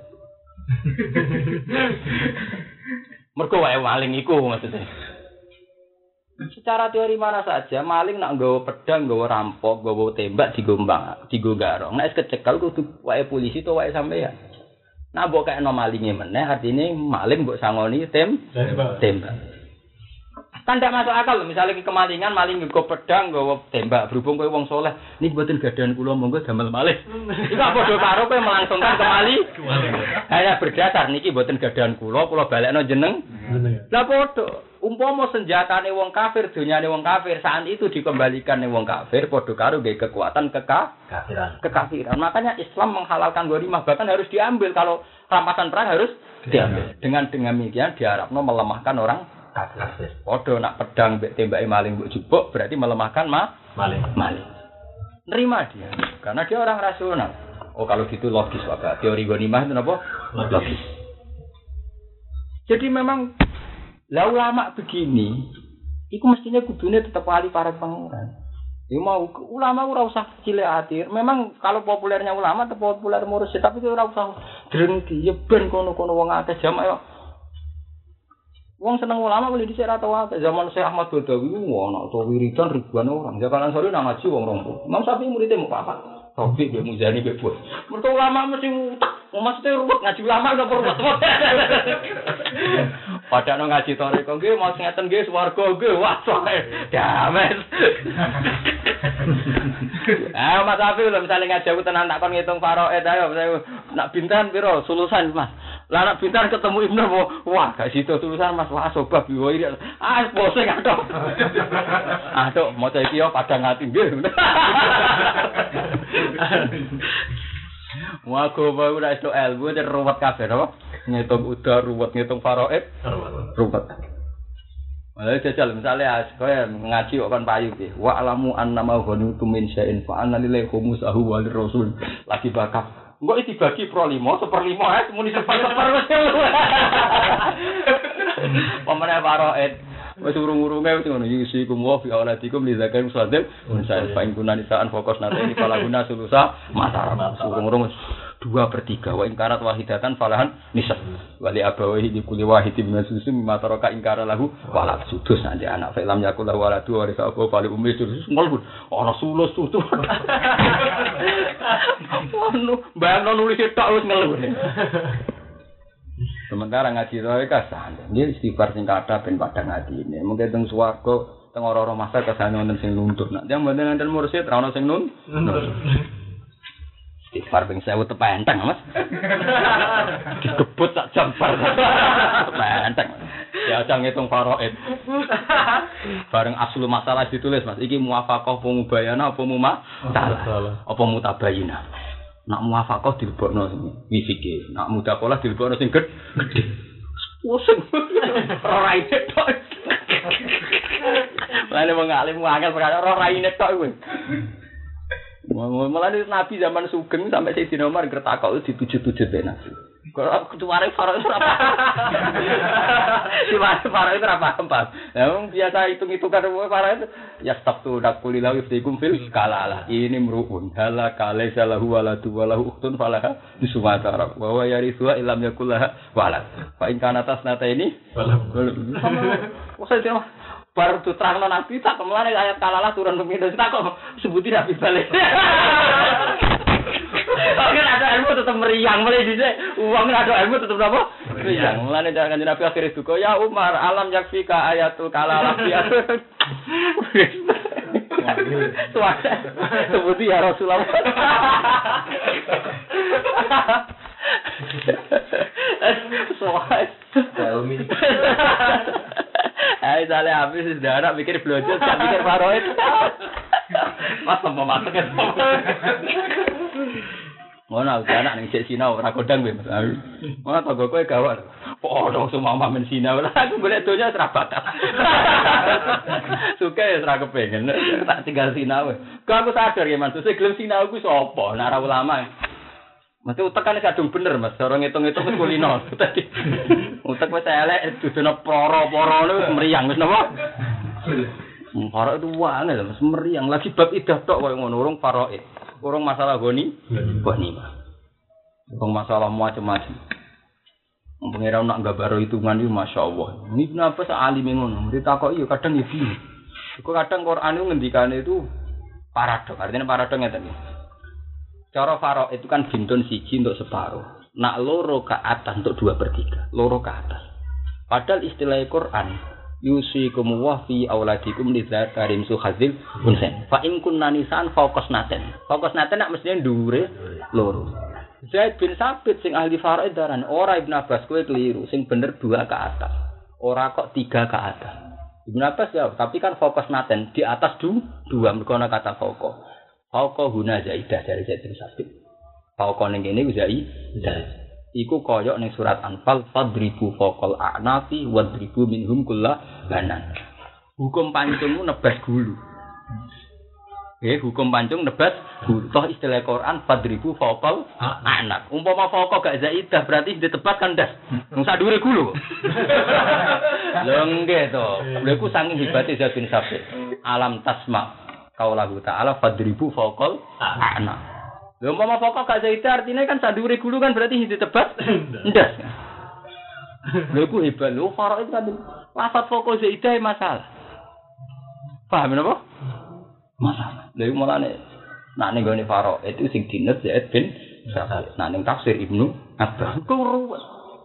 Mergo wae maling iku maksudnya. Secara teori mana saja, maling nak nggawa pedang, nggawa rampok, nggawa tembak digombang, digo garong. Nek kecekal kudu wae polisi to wae sampeyan. Nah mbok kaya malinge meneh artine maling mbok sangoni tembak. Kan ndak masuk akal lho, misalnya kemalingan maling nggawa pedang, nggawa tembak, berhubung kowe wong saleh, niki mboten gadahan kula monggo damel malih. Iku padha karo kowe melangsungkan hanya berdasar niki mboten gadahan kula balekno jeneng. Lah padha umpama senjatane wong kafir, dunyane wong kafir, saat itu dikembalikan ning wong kafir, padha karo nggih kekuatan kekafiran. Makanya Islam menghalalkan ghanimah, bahkan harus diambil kalau rampasan perang harus diambil. Dengan demikian diharapno melemahkan orang kafir. Padha nak pedang mbek tembake maling mbok jupuk berarti melemahkan maling. Nerima dia karena dia orang rasional. Oh kalau gitu logis Pak. Teori ghanimah itu apa? Logis. Jadi memang lah ulama begini, itu mestinya kudune tetap wali para pangeran. Ya mau ulama ora usah cilik ati. Memang kalau populernya ulama tetap populer mursyid, tapi ora usah drengki. Ya ben kono-kono wong akeh jamaah. Wong seneng ulama boleh dhisik ra tau akeh. Zaman Syekh Ahmad Badawi ono to wiridan ribuan orang. Jakalan sore nang ngaji wong 20. Imam Syafi'i muridé mau apa? Taufik be Muzani be Bos. Mergo ulama mesti utak. Maksudnya ruwet ngaji ulama kok ruwet. Padahal ngaji toreko nggih mau ngeten nggih swarga nggih wah soe dames. Mas Afif lho misale ngaji aku tenan tak kon ngitung faraid ayo nak bintan piro sulusan Mas. Lah nak bintan ketemu Ibnu wah gak situ sulusan Mas wah sobab iki. Bose katok. Aduh maca iki yo padang ati nggih. Wago bae ora iso ilmu ter ruwet kabeh apa? Ngitung udar ruwet ngitung faraid ruwet. Malah jajal misalnya kowe ngaji kok kan payu iki. Wa alamu annama ghanitu min syai'in fa anna lillahi khumsahu wa lirrasul. Lagi bakap. Engko iki dibagi pro 5, 1/5 muni seper wis. Pamane faraid wis urung-urunge wis ngono iki kumwa fi auladikum li zakat musaddiq unsal fa in kunani sa'an fokus nanti ini kalau guna sulusa masalah urung-urung 2/3 wa ingkarat wahidatan falahan nisab wali abawahi di kulli wahidin min susu mimma taraka ingkara lahu wala sudus nanti anak film yakul lahu wala tu warisa apa fali ummi sudus ngolbun ana sulus tutu ono mbah nulis tok wis ngeluh. Sementara ngaji roe kasan, dia istighfar sing kathah ben padang atine. Mungkin teng swarga, teng ora-ora masa kesane wonten sing nuntut. Nek yang mboten enten mursyid ra ono sing istighfar ping 1000 tepenteng, Mas. Dikebut sak jam bar. Tepenteng. Ya aja ngitung faraid. Bareng aslu masalah ditulis, Mas. Iki muwafaqah apa mubayana apa mumasalah? Apa mutabayina? Nak muwafaqah dilebokno sing wisike, nak mudaqalah dilebokno sing gedhe. Pusing. Ora ide tok. Lane wong alim angel perkara ora raine tok kuwi. Mulane Nabi zaman Sugeng sampai Sayyidina Umar gertakok dituju-tuju ben Nabi. Kalau ketuare Faro itu apa? Si Faro itu apa? Nah, biasa hitung-hitungan Faro itu ya sabtu dakulilah iftikum fil kalala. Ini meruun hala kale salahu waladu walahu ukhtun falaha di Sumatera. Bahwa yarithuha illam yakullaha walad. Fa in kana tasnata ini wah saya baru tu terang nabi tak kemana ayat kalalah turun pemimpin tak kok sebutin nabi balik. Kan ada ilmu tetap meriang mulai di uang ada ilmu tetap apa? Meriang. Mulane jangan Nabi akhir itu ya Umar alam yakfika ayatul kalalah ya. Suara sebuti ya Rasulullah. Helmi. Hai salah habis sudah anak mikir blojol, tak mikir faroid. Mas mau masak kan. Ngono anak ning sik sinau ora kodang kowe Mas. Ngono tanggo kowe gawar. Podho semua mamen sinau. Aku golek donya ora bakat. Suka ya ora kepengin. Tak tinggal sinau. Kok aku sadar ya Mas, sing gelem sinau ku sapa? Nek ora ulama. Mesti utek kan kadung bener Mas, ora ngitung-ngitung wis kulino. Tadi utek wis elek dudono poro-poro wis meriang wis napa? Faraid itu wangi Mas, meriang lagi bab idah tok koyo ngono, urung faraid. Urung masalah goni mah. Urung masalah macam-macam. Pengira nak gabaro hitungan iki masyaallah. Ini kenapa sak alim ngono? Ditakoki yo kadang ya bingung. Iku kadang Quran itu ngendikane itu paradok. Artinya paradok ngeten iki. Cara faraid itu kan bintun siji untuk separuh. Nak loro ke atas untuk 2/3. Loro ke atas. Padahal istilah Quran yusikum wa fi auladikum lidzakari mislu hadzil unsain. Fa in kunna nisan faqasnaten. Faqasnaten nak mestine dhuwure loro. Zaid bin Sabit sing ahli faraid daran ora Ibnu Abbas kowe keliru sing bener 2 ke atas. Ora kok 3 ke atas. Ibnu Abbas ya, tapi kan faqasnaten di atas 2 mergo ana kata faqah. Fauqa huna zaidah dari Zaid bin Sabit. Fauqa ning kene zaidah. Iku koyok ning surat Anfal fadribu faqal a'nafi wadribu minhum kullabanan. Hukum pancungmu nebas gulu. Hukum pancung nebas gulu. Toh istilah Quran fadribu faqal a'naf. Umpama fauqa gak zaidah berarti ditebas kan das. Wong sak dhuwure gulu. Lho nggih to. Lha iku saking hebate Zaid bin Sabit. Alam tasma kaulahu ta'ala fadribu faqal a'na. Lha umpama faqal gak zaidah artinya kan sadure gulu kan berarti ditebas ndas. Lha iku hebat lho faraid kan lafaz faqal zaidah masalah. Paham napa? Masalah. Lha iku mulane nak ning gone faraid itu sing dines Zaid bin Sabit. Nak ning tafsir Ibnu Abbas kuruwet.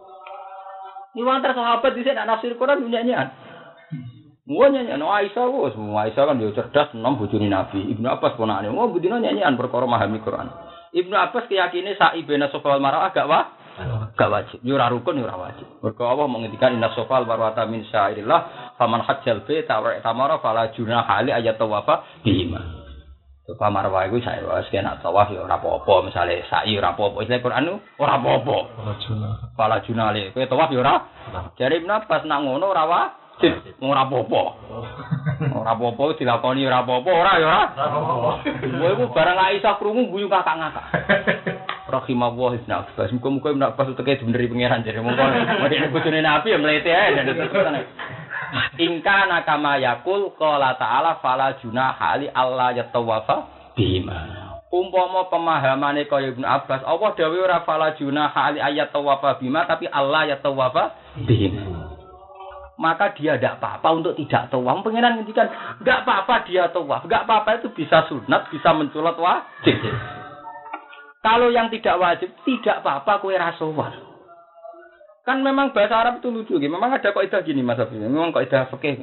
Ni wong sahabat dhisik nak nafsir Quran nyanyian. Muanya no Aisyah wis, Aisyah kan yo cerdas enom bojone Nabi. Ibnu Abbas ponakane, oh budina nyanyian perkara memahami Quran. Ibnu Abbas keyakine sa'i bena sofal mar'ah gak wajib. Yo ora rukun yo ora wajib. Mergo Allah mengendikan inna sofal marwata min syairillah, faman hajjal baita wa tamara fala junaha ali ayat tawafa bihima. Sofa marwah iku sae wis kena tawaf yo ora apa-apa, misale sa'i ora apa-apa. Istilah Quran ora apa-apa. Fala junaha ali, kowe tawaf yo ora. Jare Ibnu Abbas nak ngono ora ora apa-apa. Ora apa-apa dilakoni ora apa-apa, ora ya ora. Kowe iku barang Aisyah krungu guyu kakak-kakak. Rahimahullah Ibnu Abbas. Muga-muga Ibnu Abbas uteke dibeneri pangeran jare mongko. Nek bojone Nabi ya mlete ae dan terus. Ingka nakama yakul qala ta'ala fala junaha ali alla yatawafa bima. Umpama pemahamane kaya Ibnu Abbas, Allah dawuh ora fala junaha ali ayat tawafa bima tapi alla yatawafa bima. Maka dia tidak apa-apa untuk tidak tawaf. Pengiran ngendikan tidak apa-apa dia tawaf. Tidak apa-apa itu bisa sunat, bisa menculat wajib. Kalau yang tidak wajib, tidak apa-apa kue rasawar. Kan memang bahasa Arab itu lucu. Memang ada kaidah gini Mas Abi. Memang kaidah fikih.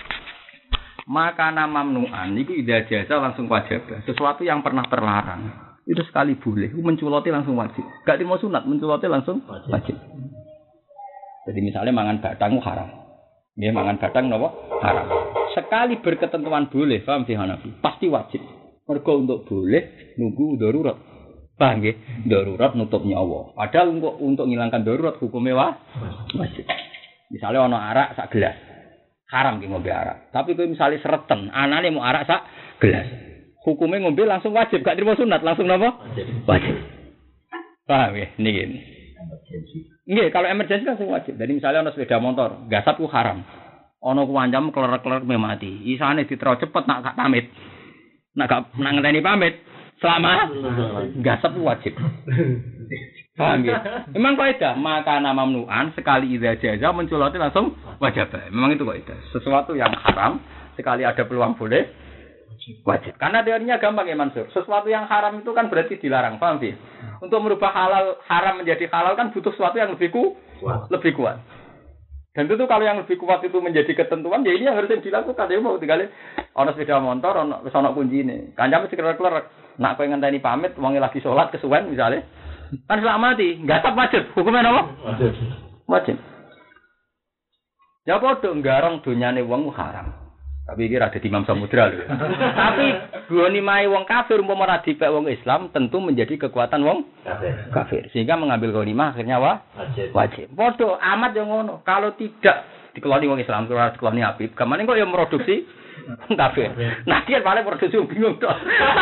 Maka nama mamnu'an itu idza jaza langsung wajib. Sesuatu yang pernah terlarang itu sekali boleh. Menculati langsung wajib. Gak mau sunat, menculati langsung wajib. Jadi misalnya mangan batang haram. Nggih mangan batang napa? Haram. Sekali berketentuan boleh, paham sih Hanafi? Pasti wajib. Mergo untuk boleh nunggu darurat. Paham nggih? Darurat nutup nyawa. Padahal untuk ngilangkan darurat hukumnya wajib. Misalnya ana arak sak gelas. Haram ki ngombe arak. Tapi kowe misalnya sereten, anane mau arak sak gelas. Hukumnya ngombe langsung wajib, gak terima sunat, langsung napa? Wajib. Paham nggih? Niki. Nggih, kalau emergensi langsung wajib. Jadi misalnya ana sepeda motor, gasap ku haram. Ana ku wancam klerer-klerer mati. Isane ditero cepet nak gak pamit. Nak gak ngenteni pamit, selama gasap ku wajib. Paham ya? Memang kaidah, maka nama mamnuan sekali idza jaza menculoti langsung wajib. Memang itu kaidah. Sesuatu yang haram sekali ada peluang boleh wajib. Karena teorinya gampang ya Mansur. Sesuatu yang haram itu kan berarti dilarang, paham sih? Untuk merubah haram menjadi halal kan butuh sesuatu yang lebih kuat. Dan tentu kalau yang lebih kuat itu menjadi ketentuan, ya ini yang harus dilakukan. Ya mau tinggal ono sepeda motor, ono kunci ini. Kancam mesti klerer-klerer. Nak kowe ngenteni pamit, wong lagi sholat kesuwen misalnya. Kan selama mati, gasap wajib. Hukumnya apa? Wajib. Ya padha nggarong donyane wong haram. Tapi iki ra dadi Imam Samudra lho. Tapi goni mae wong kafir umpama ora dipek wong Islam tentu menjadi kekuatan wong kafir. Sehingga mengambil ghanimah akhirnya wajib. Padha amat yang ngono. Kalau tidak dikeloni wong Islam, ora dikeloni Habib, gamane kok ya produksi kafir. Nah dia paling produksi bingung tok.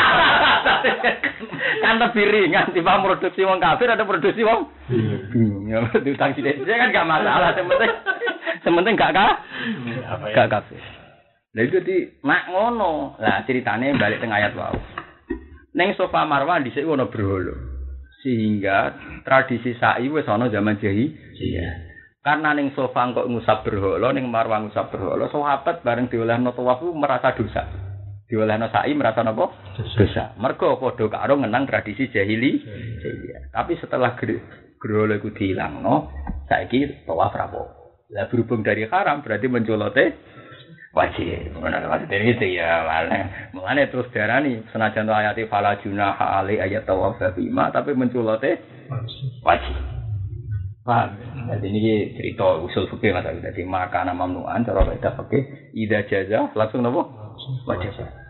Kan lebih ringan timbang produksi wong kafir ada produksi wong bingung. Ya diutang sithik kan gak masalah, sementing gak kafir. Lah itu di mak ngono. Lah ceritane balik teng ayat wau. Ning Safa Marwah dhisik ono berhala. Sehingga tradisi sa'i wis ana zaman jahiliyah. Karena ning Safa kok ngusap berhala, ning Marwah ngusap berhala, sahabat bareng diolehno tawaf merasa dosa. Diolehno sa'i merasa napa? Dosa. Mergo padha karo ngenang tradisi jahiliyah. Tapi setelah berhala iku dilangno, saiki tawaf rapo. Lah berhubung dari haram berarti menculote wajib. Mana dari itu ya malah terus darani senajan ayat fala junaha ali ayat tawaf bima tapi menculote wajib. Paham? Jadi ini cerita usul fikih Mas. Jadi maka nama mamnuan cara kaidah fikih idza jaza langsung napa? Wajib.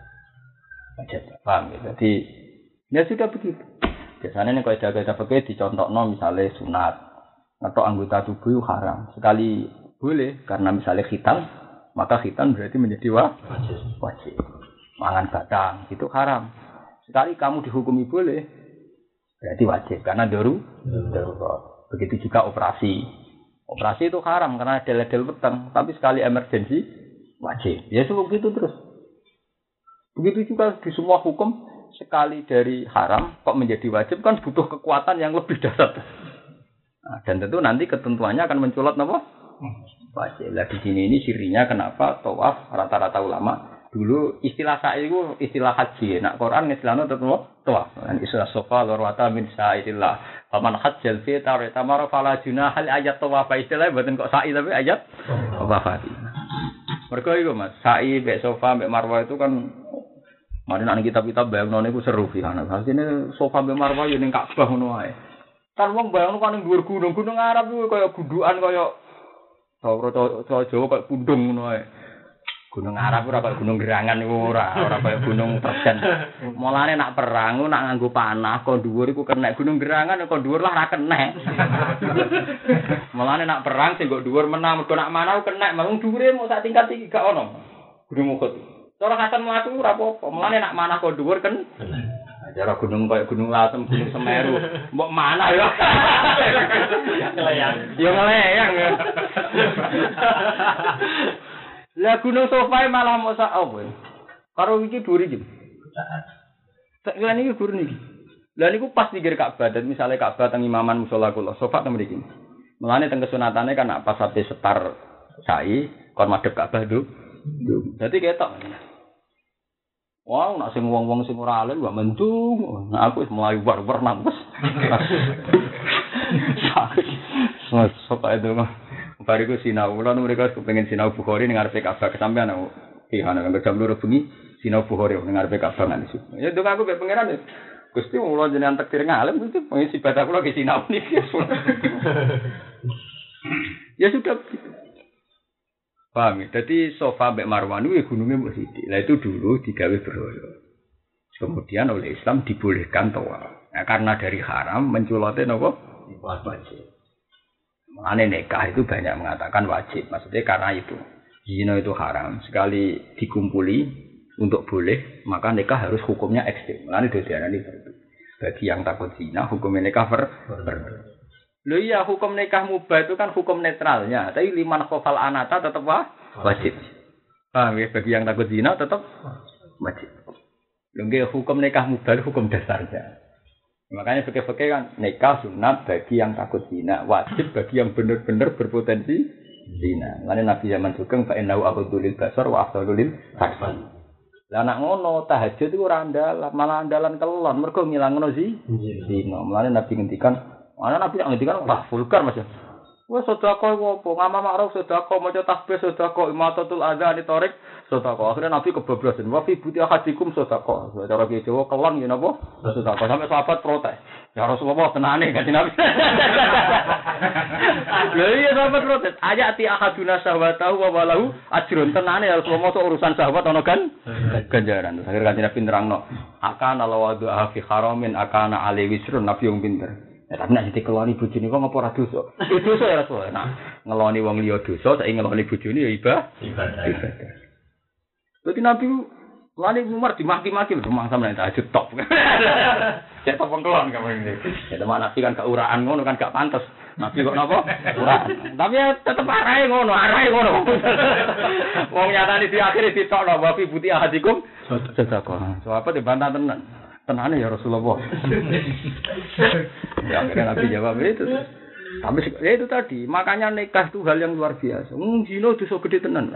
Paham ya? Jadi ya sudah begitu. Biasanya nek kaidah fikih dicontohno misalnya sunat atau anggota tubuh haram. Sekali boleh karena misalnya khitan maka khitan berarti menjadi wajib. Mangan batang itu haram. Sekali kamu dihukumi boleh, berarti wajib karena darurat. Begitu juga operasi. Operasi itu haram karena del-del petang, tapi sekali emergensi wajib. Ya begitu terus. Begitu juga di semua hukum sekali dari haram kok menjadi wajib kan butuh kekuatan yang lebih dasar. Nah, dan tentu nanti ketentuannya akan menculot apa? Wajib. Lah di sini ini sirinya kenapa tawaf rata-rata ulama dulu istilah sa'i itu istilah haji. Nak Quran istilahnya tetap tawaf. Dan istilah Safa lorwata min sa'idillah. Faman hajjal fi tamara fala junaha ayat tawaf. Istilahnya bukan kok sa'i tapi ayat tawaf. Mergo iku Mas, sa'i mek Safa mek Marwah itu kan mari nek kitab-kitab bayangno niku seru piye ana. Asline Safa mek Marwah yo ning Ka'bah ngono wae. Kan wong bayangno kan ning dhuwur gunung-gunung Arab kuwi kaya gundukan kaya Jawa kok pundung ngono ae. Gunung Arab ora kaya gunung Gerangan iku ora kaya gunung Terjen. Mulane nak perang nak nganggo panah kon dhuwur iku kenek gunung Gerangan kon dhuwur lah ora kenek. Mulane nak perang sing kok dhuwur menang mergo nak manah kenek mung dhuwure mung sak tingkat iki gak ono. Gunung Uhud. Cara kasan mlaku ora apa-apa. Mulane nak manah kon dhuwur kan. Cara gunung kaya gunung Lasem, gunung Semeru, mbok mana ya? Ngeleyang. Ya ngeleyang. Lah gunung Safa malah mosak apa? Karo iki dhuwur iki. Sak kira niki dhuwur niki. Lah niku pas pinggir Ka'bah, dan misale Ka'bah teng imaman musala kula, Safa teng mriki. Mulane teng kesunatane kan pas sampai setar sa'i kon madhep Ka'bah nduk. Dadi ketok. Wah, nak sing wong-wong sing ora alim gak mendung. Nah, aku wis mulai war-war nang wis. Sok ae dong. Bariku sinau, kula mereka kepengin sinau Bukhari ning ngarepe Ka'bah kesampean aku. Ihana kan jam 2 bengi sinau Bukhari ning ngarepe Ka'bah nang situ. Ya dong aku mek pangeran. Gusti kula jenengan takdir ngalim itu pengisi ibadah kula ki sinau niki. Ya sudah. Paham ya? Jadi Safa mbek Marwah niku gununge mbok sithik. Lah itu dulu digawe berhala. Kemudian oleh Islam dibolehkan tawaf. Nah, karena dari haram menculote napa? Wajib. Makanya nikah itu banyak mengatakan wajib. Maksudnya karena itu. Zina itu haram. Sekali dikumpuli untuk boleh, maka nikah harus hukumnya ekstrem. Makanya diarani fardu. Bagi yang takut zina, hukumnya nikah fardu. Lho iya hukum nikah mubah itu kan hukum netralnya, tapi liman khofal anata tetap wajib. Paham ya? Bagi yang takut zina tetap wajib. Lho nggih hukum nikah mubah hukum dasarnya. Makanya fikih-fikih kan nikah sunat bagi yang takut zina, wajib bagi yang benar-benar berpotensi zina. Lan Nabi zaman sugeng fa innahu aqdulil basar wa afdalul farji. Lah anak ngono tahajud iku ora andalan, malah andalan kelon mergo ngilangno zina. Mulane Nabi ngendikan ana Nabi ngendikan wah vulgar Mas. Wes sedekah iku apa? Ngamal makruf sedekah, maca tasbih sedekah, imatatul adzan tarik sedekah. Akhire Nabi kebablasan, wa fi buti ahadikum sedekah. Cara ki Jawa kelon yen apa? Sedekah. Sampai sahabat protes. Ya Rasulullah tenane kan Nabi. Lha iya sahabat protes. Ayati ahaduna syahwatahu wa walahu ajrun. Tenane ya Rasulullah sok urusan syahwat ana kan ganjaran. Akhire kan Nabi nerangno, akana lawadu fi haramin akana ali wisrun. Nabi yang pinter. Ya, tapi nek dikeloni bojone kok ngopo ora dosa? Itu dosa ya Rasul. Nah, ngeloni wong liya dosa, saiki ngeloni bojone ya ibadah. Dadi Nabi lali Umar dimaki-maki lho mangsa nek tahajud top. Cek top kelon kemarin iki. Ya teman Nabi kan gak uraan ngono kan gak pantes. Nabi kok napa? Uraan. Tapi ya tetep arahe ngono. Wong nyatane di akhir ditokno wa fi buti ahadikum sedekah. So apa dibantah tenan. Tenane ya Rasulullah. Ya akhirnya Nabi jawab itu. Tapi ya itu tadi, makanya nikah itu hal yang luar biasa. Zina dosa gede tenan.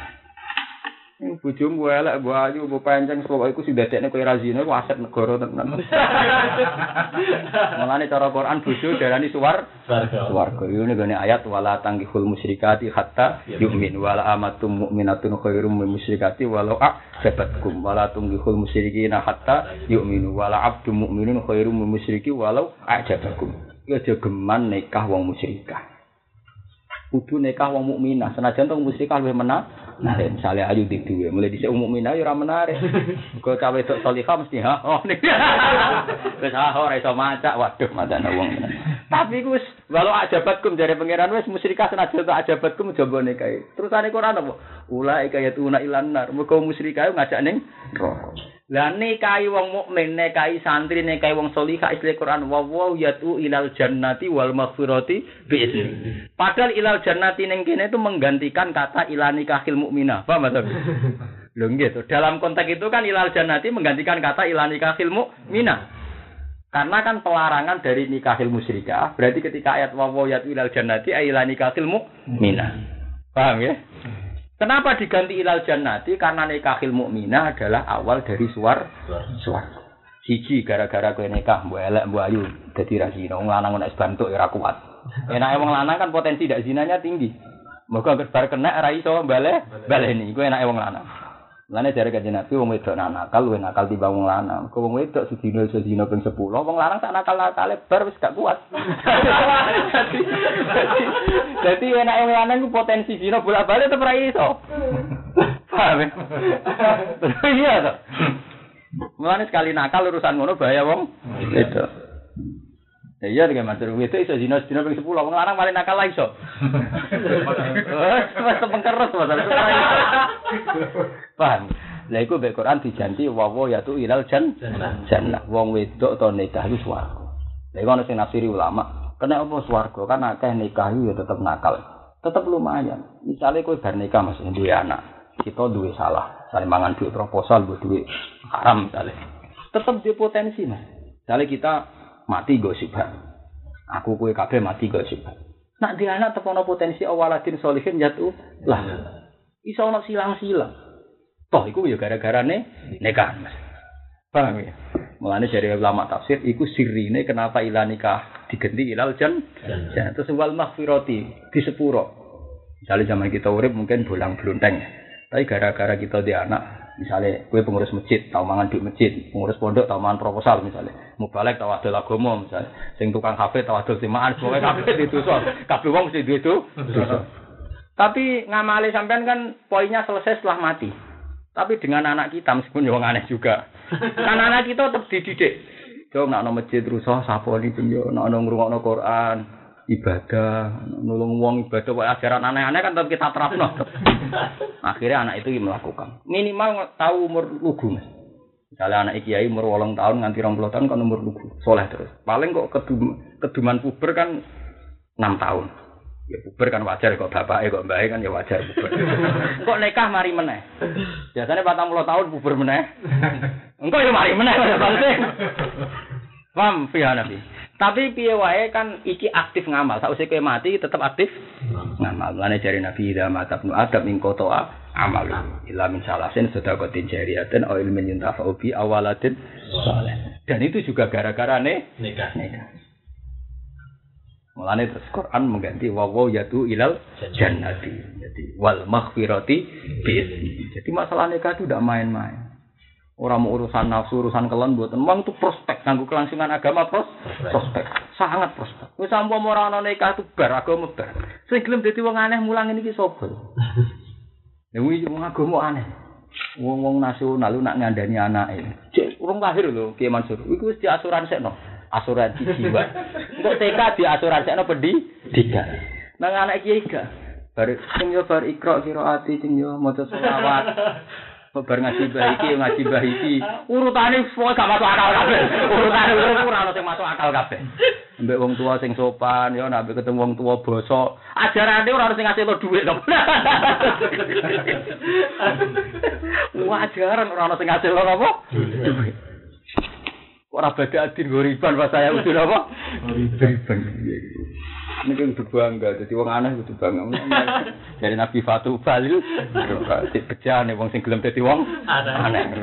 Bojomu elek, mbok ayu, mbok pancen pokoke iku sing dadekne kowe ra zina iku aset negara tenan. Mulane cara Quran bojo darani swarga. Iki ngene ayat wala tangkihul musyrikati hatta yu'min wala amatum mu'minatun khairum min musyrikati walau a'jabatkum wala tangkihul musyrikina hatta yu'minu wala abdum mu'minun khairum min musyriki walau a'jabakum. Iki aja geman nikah wong musyrikah. Kudu nikah wong mukminah, senajan wong musyrikah luwih menak. Nah, misalnya ayu di duwe, mulai dhisik mukminah ya ora menarik. Kok cawe tok salihah mesti oh nih. Wis ora iso macak, waduh madane wong. Tapi wis walau ajabatkum jare pangeran wis musyrikah senajan tok ajabatkum coba nikahi. Terusane Quran apa? Ulai kaya tuna ilan nar. Muga musyrikah ngajak ning neraka. Lah nikahi wong mukmin, nikahi santri, nikahi wong salihah istilah Quran wa yatu ilal jannati wal maghfirati bi izni. Padahal ilal jannati ning kene itu menggantikan kata ilani kahil mukminah. Paham ta? Lho nggih to. Dalam konteks itu kan ilal jannati menggantikan kata ilani kahil mukminah. Karena kan pelarangan dari nikahil musyrikah, berarti ketika ayat wa yatu ilal jannati ilani kahil mukminah. Paham ya? Kenapa diganti ilal jannati? Karena nikahil mukminah adalah awal dari swarga. Siji gara-gara kowe nikah mbok elek mbok ayu dadi ra zina. Wong lanang nek bantuk ya ora kuat. Enake wong lanang kan potensi dak zinanya tinggi. Moga bar kena ora iso baleni. Iku enake wong lanang. Lane jare kanjeng Nabi wong wedok nakal luwih nakal timbang wong lanang. Kok wong wedok sedina ping 10, wong lanang sak nakal-nakale bar wis gak kuat. Dadi enake wong lanang ku potensi zina bolak-balik tetep ra iso. Paham? Iya to. Mulane sekali nakal urusan ngono bahaya wong wedok. Ya iya dengan matur wedok iso zina sedina ping 10, wong lanang paling nakal lah iso. Wes tepengkeres masalah. Paham? Lah iku mek Quran dijanji wa yatu ilal jannah. Wong wedok to nikah iku swarga. Lah iku ana sing nafsiri ulama, kena apa swarga kan akeh nikah ya tetep nakal. Tetep lumayan. Misale kowe bar nikah Mas duwe anak, kita duwe salah, saling mangan duit proposal, duit haram misale. Tetep di potensi Mas. Misale kita mati gosibah. Aku kowe kabeh mati gosibah. Nak di anak tepono potensi awaladin solihin jatuh lah. Iso ono silang-silang. Toh iku ya gara-garane nikah Mas. Paham ya? Mulane dari ulama tafsir iku sirine kenapa ilah nikah diganti ilal jannah. Terus wal maghfirati di sepuro. Misalnya zaman kita urip mungkin bolang blonteng. Tapi gara-gara kita di anak, misalnya kowe pengurus masjid, tau mangan duit masjid, pengurus pondok tau mangan proposal misalnya. Mubalek tau adol agama misalnya. Sing tukang kafe tau adol simaan, pokoke kabeh ditusul. Kabeh wong mesti duwe itu. Tapi ngamali sampean kan poinnya selesai setelah mati. Tapi dengan anak kita meskipun wong aneh juga. Kan anak kita tetap dididik. Jom nak nang masjid rusuh saponi penjo, nak nang ngrungokno Quran, ibadah, nulung wong ibadah wae ajaran aneh-aneh kan tetap kita terapno. Akhirnya anak itu melakukan. Minimal tahu umur lugu. Misalnya anak kiai umur 8 tahun nganti 20 tahun kan umur lugu, soleh terus. Paling kok keduman puber kan 6 tahun. Ya puber kan wajar kok bapake kok mbake kan ya wajar puber. Kok nikah mari meneh. Biasane 40 tahun puber meneh. Engko ya mari meneh maksudnya. Paham piye Nabi. Tapi piye wae kan iki aktif ngamal. Sakwise kowe mati tetep aktif ngamal. Lane jare Nabi ida matabnu adab ing kotoa amal. Illa min salasin sedaqatin jariyatin aw ilmin yuntafa'u bi awalatin saleh. Dan itu juga gara-gara nikah. Mulane terus Quran mengganti wawaw yatu ilal jannati. Jadi wal maghfirati bi. Jadi masalah nikah itu tidak main-main. Orang mau urusan nafsu, urusan kelon buat memang itu prospek kanggo kelangsungan agama prospek. Sangat prospek. Wis sampe ora ana nikah itu bar agama bar. Sing gelem dadi wong aneh mulang iki sapa? Lha wong agama aneh. Wong nasional lu nak ngandani anake. Cek urung lahir lho Kiai Mansur. Iku wis diasuransikno. Asuransi jiwa. Untuk TK di asuransikno pendidikan. Nang anak kiai gak. Bar sing yo bar ikra qiraati sing yo maca selawat. Bar ngaji bahiki. Urutane semua gak masuk akal kabeh. Urutane ora ono sing masuk akal kabeh. Mbek wong tua sing sopan yo nek ketemu wong tua bosok. Ajarane ora ono sing ngasih lo dhuwit to. Ajaran ora ono sing ngasih lo apa? Dhuwit. Ora beda adin goriban pas saya udah apa? Goriban. Ini kan berbangga, jadi wong aneh kudu bangga. Dari Nabi Fatu Balil, bejane wong sing gelem dadi wong aneh.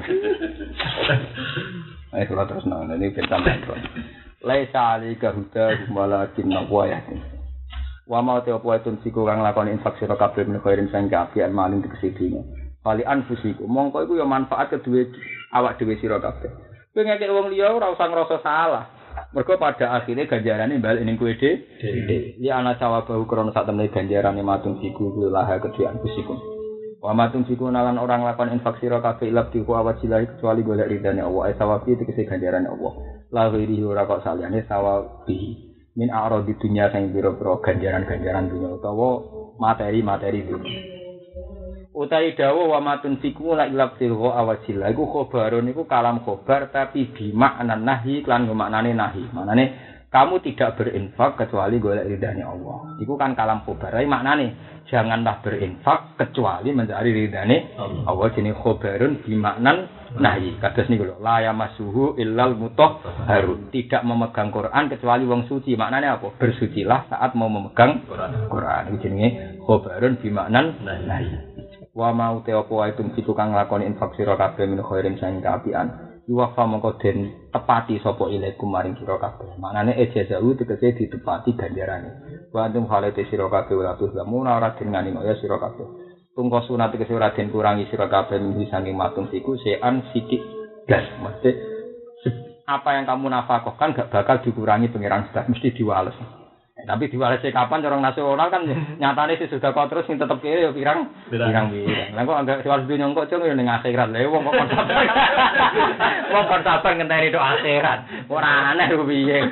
Ayo kula terus nang ini sampeyan. Laisa alika huda walakin nawayatin. Wa ma ta apa etun siku kang lakoni infak sira kabeh menawa khairin sang kafian maling dikesidinya. Kali anfusiku, mongko iku ya manfaat kedue awak dhewe sira kabeh. Kowe ngekek wong liya ora usah ngrasa salah. Mergo pada akhirnya ganjarane balik ning kowe dhewe. Ya ana sawabahu krana sak temene ganjarane matung siku laha kedue anfusikum. Wa matung siku nalan orang lakon infak sira kabeh ilab diku awajilah kecuali golek ridane Allah. Sawabi tegese ganjarane Allah. La ghairi ora kok saliyane sawabi. Min a'radi dunya sing pira-pira ganjaran-ganjaran dunya utawa materi-materi dunya. Utai dawa wa matun siku la ilab silwa awajillah iku khobarun iku kalam khobar tapi bimakna nahi lan maknane nahi. Maknane kamu tidak berinfak kecuali golek ridane Allah. Iku kan kalam khobar. Maknane janganlah berinfak kecuali mencari ridane Allah. Jenenge khobarun bimaknan nahi. Kados niku lho, la yamassuhu illal mutahharun. Tidak memegang Quran kecuali wong suci. Maknane apa? Bersucilah saat mau memegang Quran. Iku jenenge khobarun bimaknan nahi. Wa mau te apa wae tumsiku kang nglakoni infak sira kabeh min khairin sang kaapian iwafa mongko den tepati sapa ilaikum maring sira kabeh manane ejazau tegese ditepati ganjarane wa antum halate sira kabeh ora tuh lamun ora den ngani kaya sira kabeh tungko sunat tegese ora den kurangi sira kabeh min saking matung siku sean sithik gas mesti apa yang kamu nafkahkan gak bakal dikurangi pangeran sudah mesti diwales. Tapi diwalesi kapan orang nasional kan nyatane sih sudah kok terus sing tetep kiri ya pirang. Lah kok anggap diwales dunya kok cung ning akhirat. Lah wong kok sabar. Wong kok sabar ngenteni tok akhirat. Ora aneh ku piye.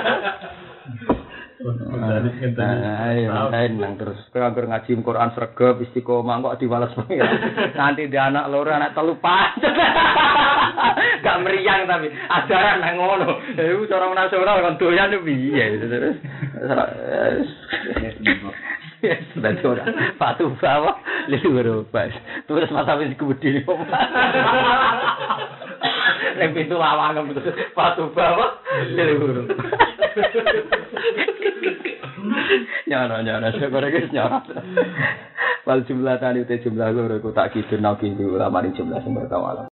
Ayo nang terus kowe anggur ngaji Quran sregep istiqomah kok diwales pengen. Nanti dia anak loro anak telu pancet. Gak meriang tapi ajaran nang ngono. Iku cara nasional kon doyan piye terus. Sudah ora. Patu bawa liru pas. Terus masa wis kebudi. Nek pintu lawang patu bawa liru. Nyara segera guys nyara. Wal jumlah tadi jumlah loro tak kidul nang pintu ulama jumlah sing bertawala.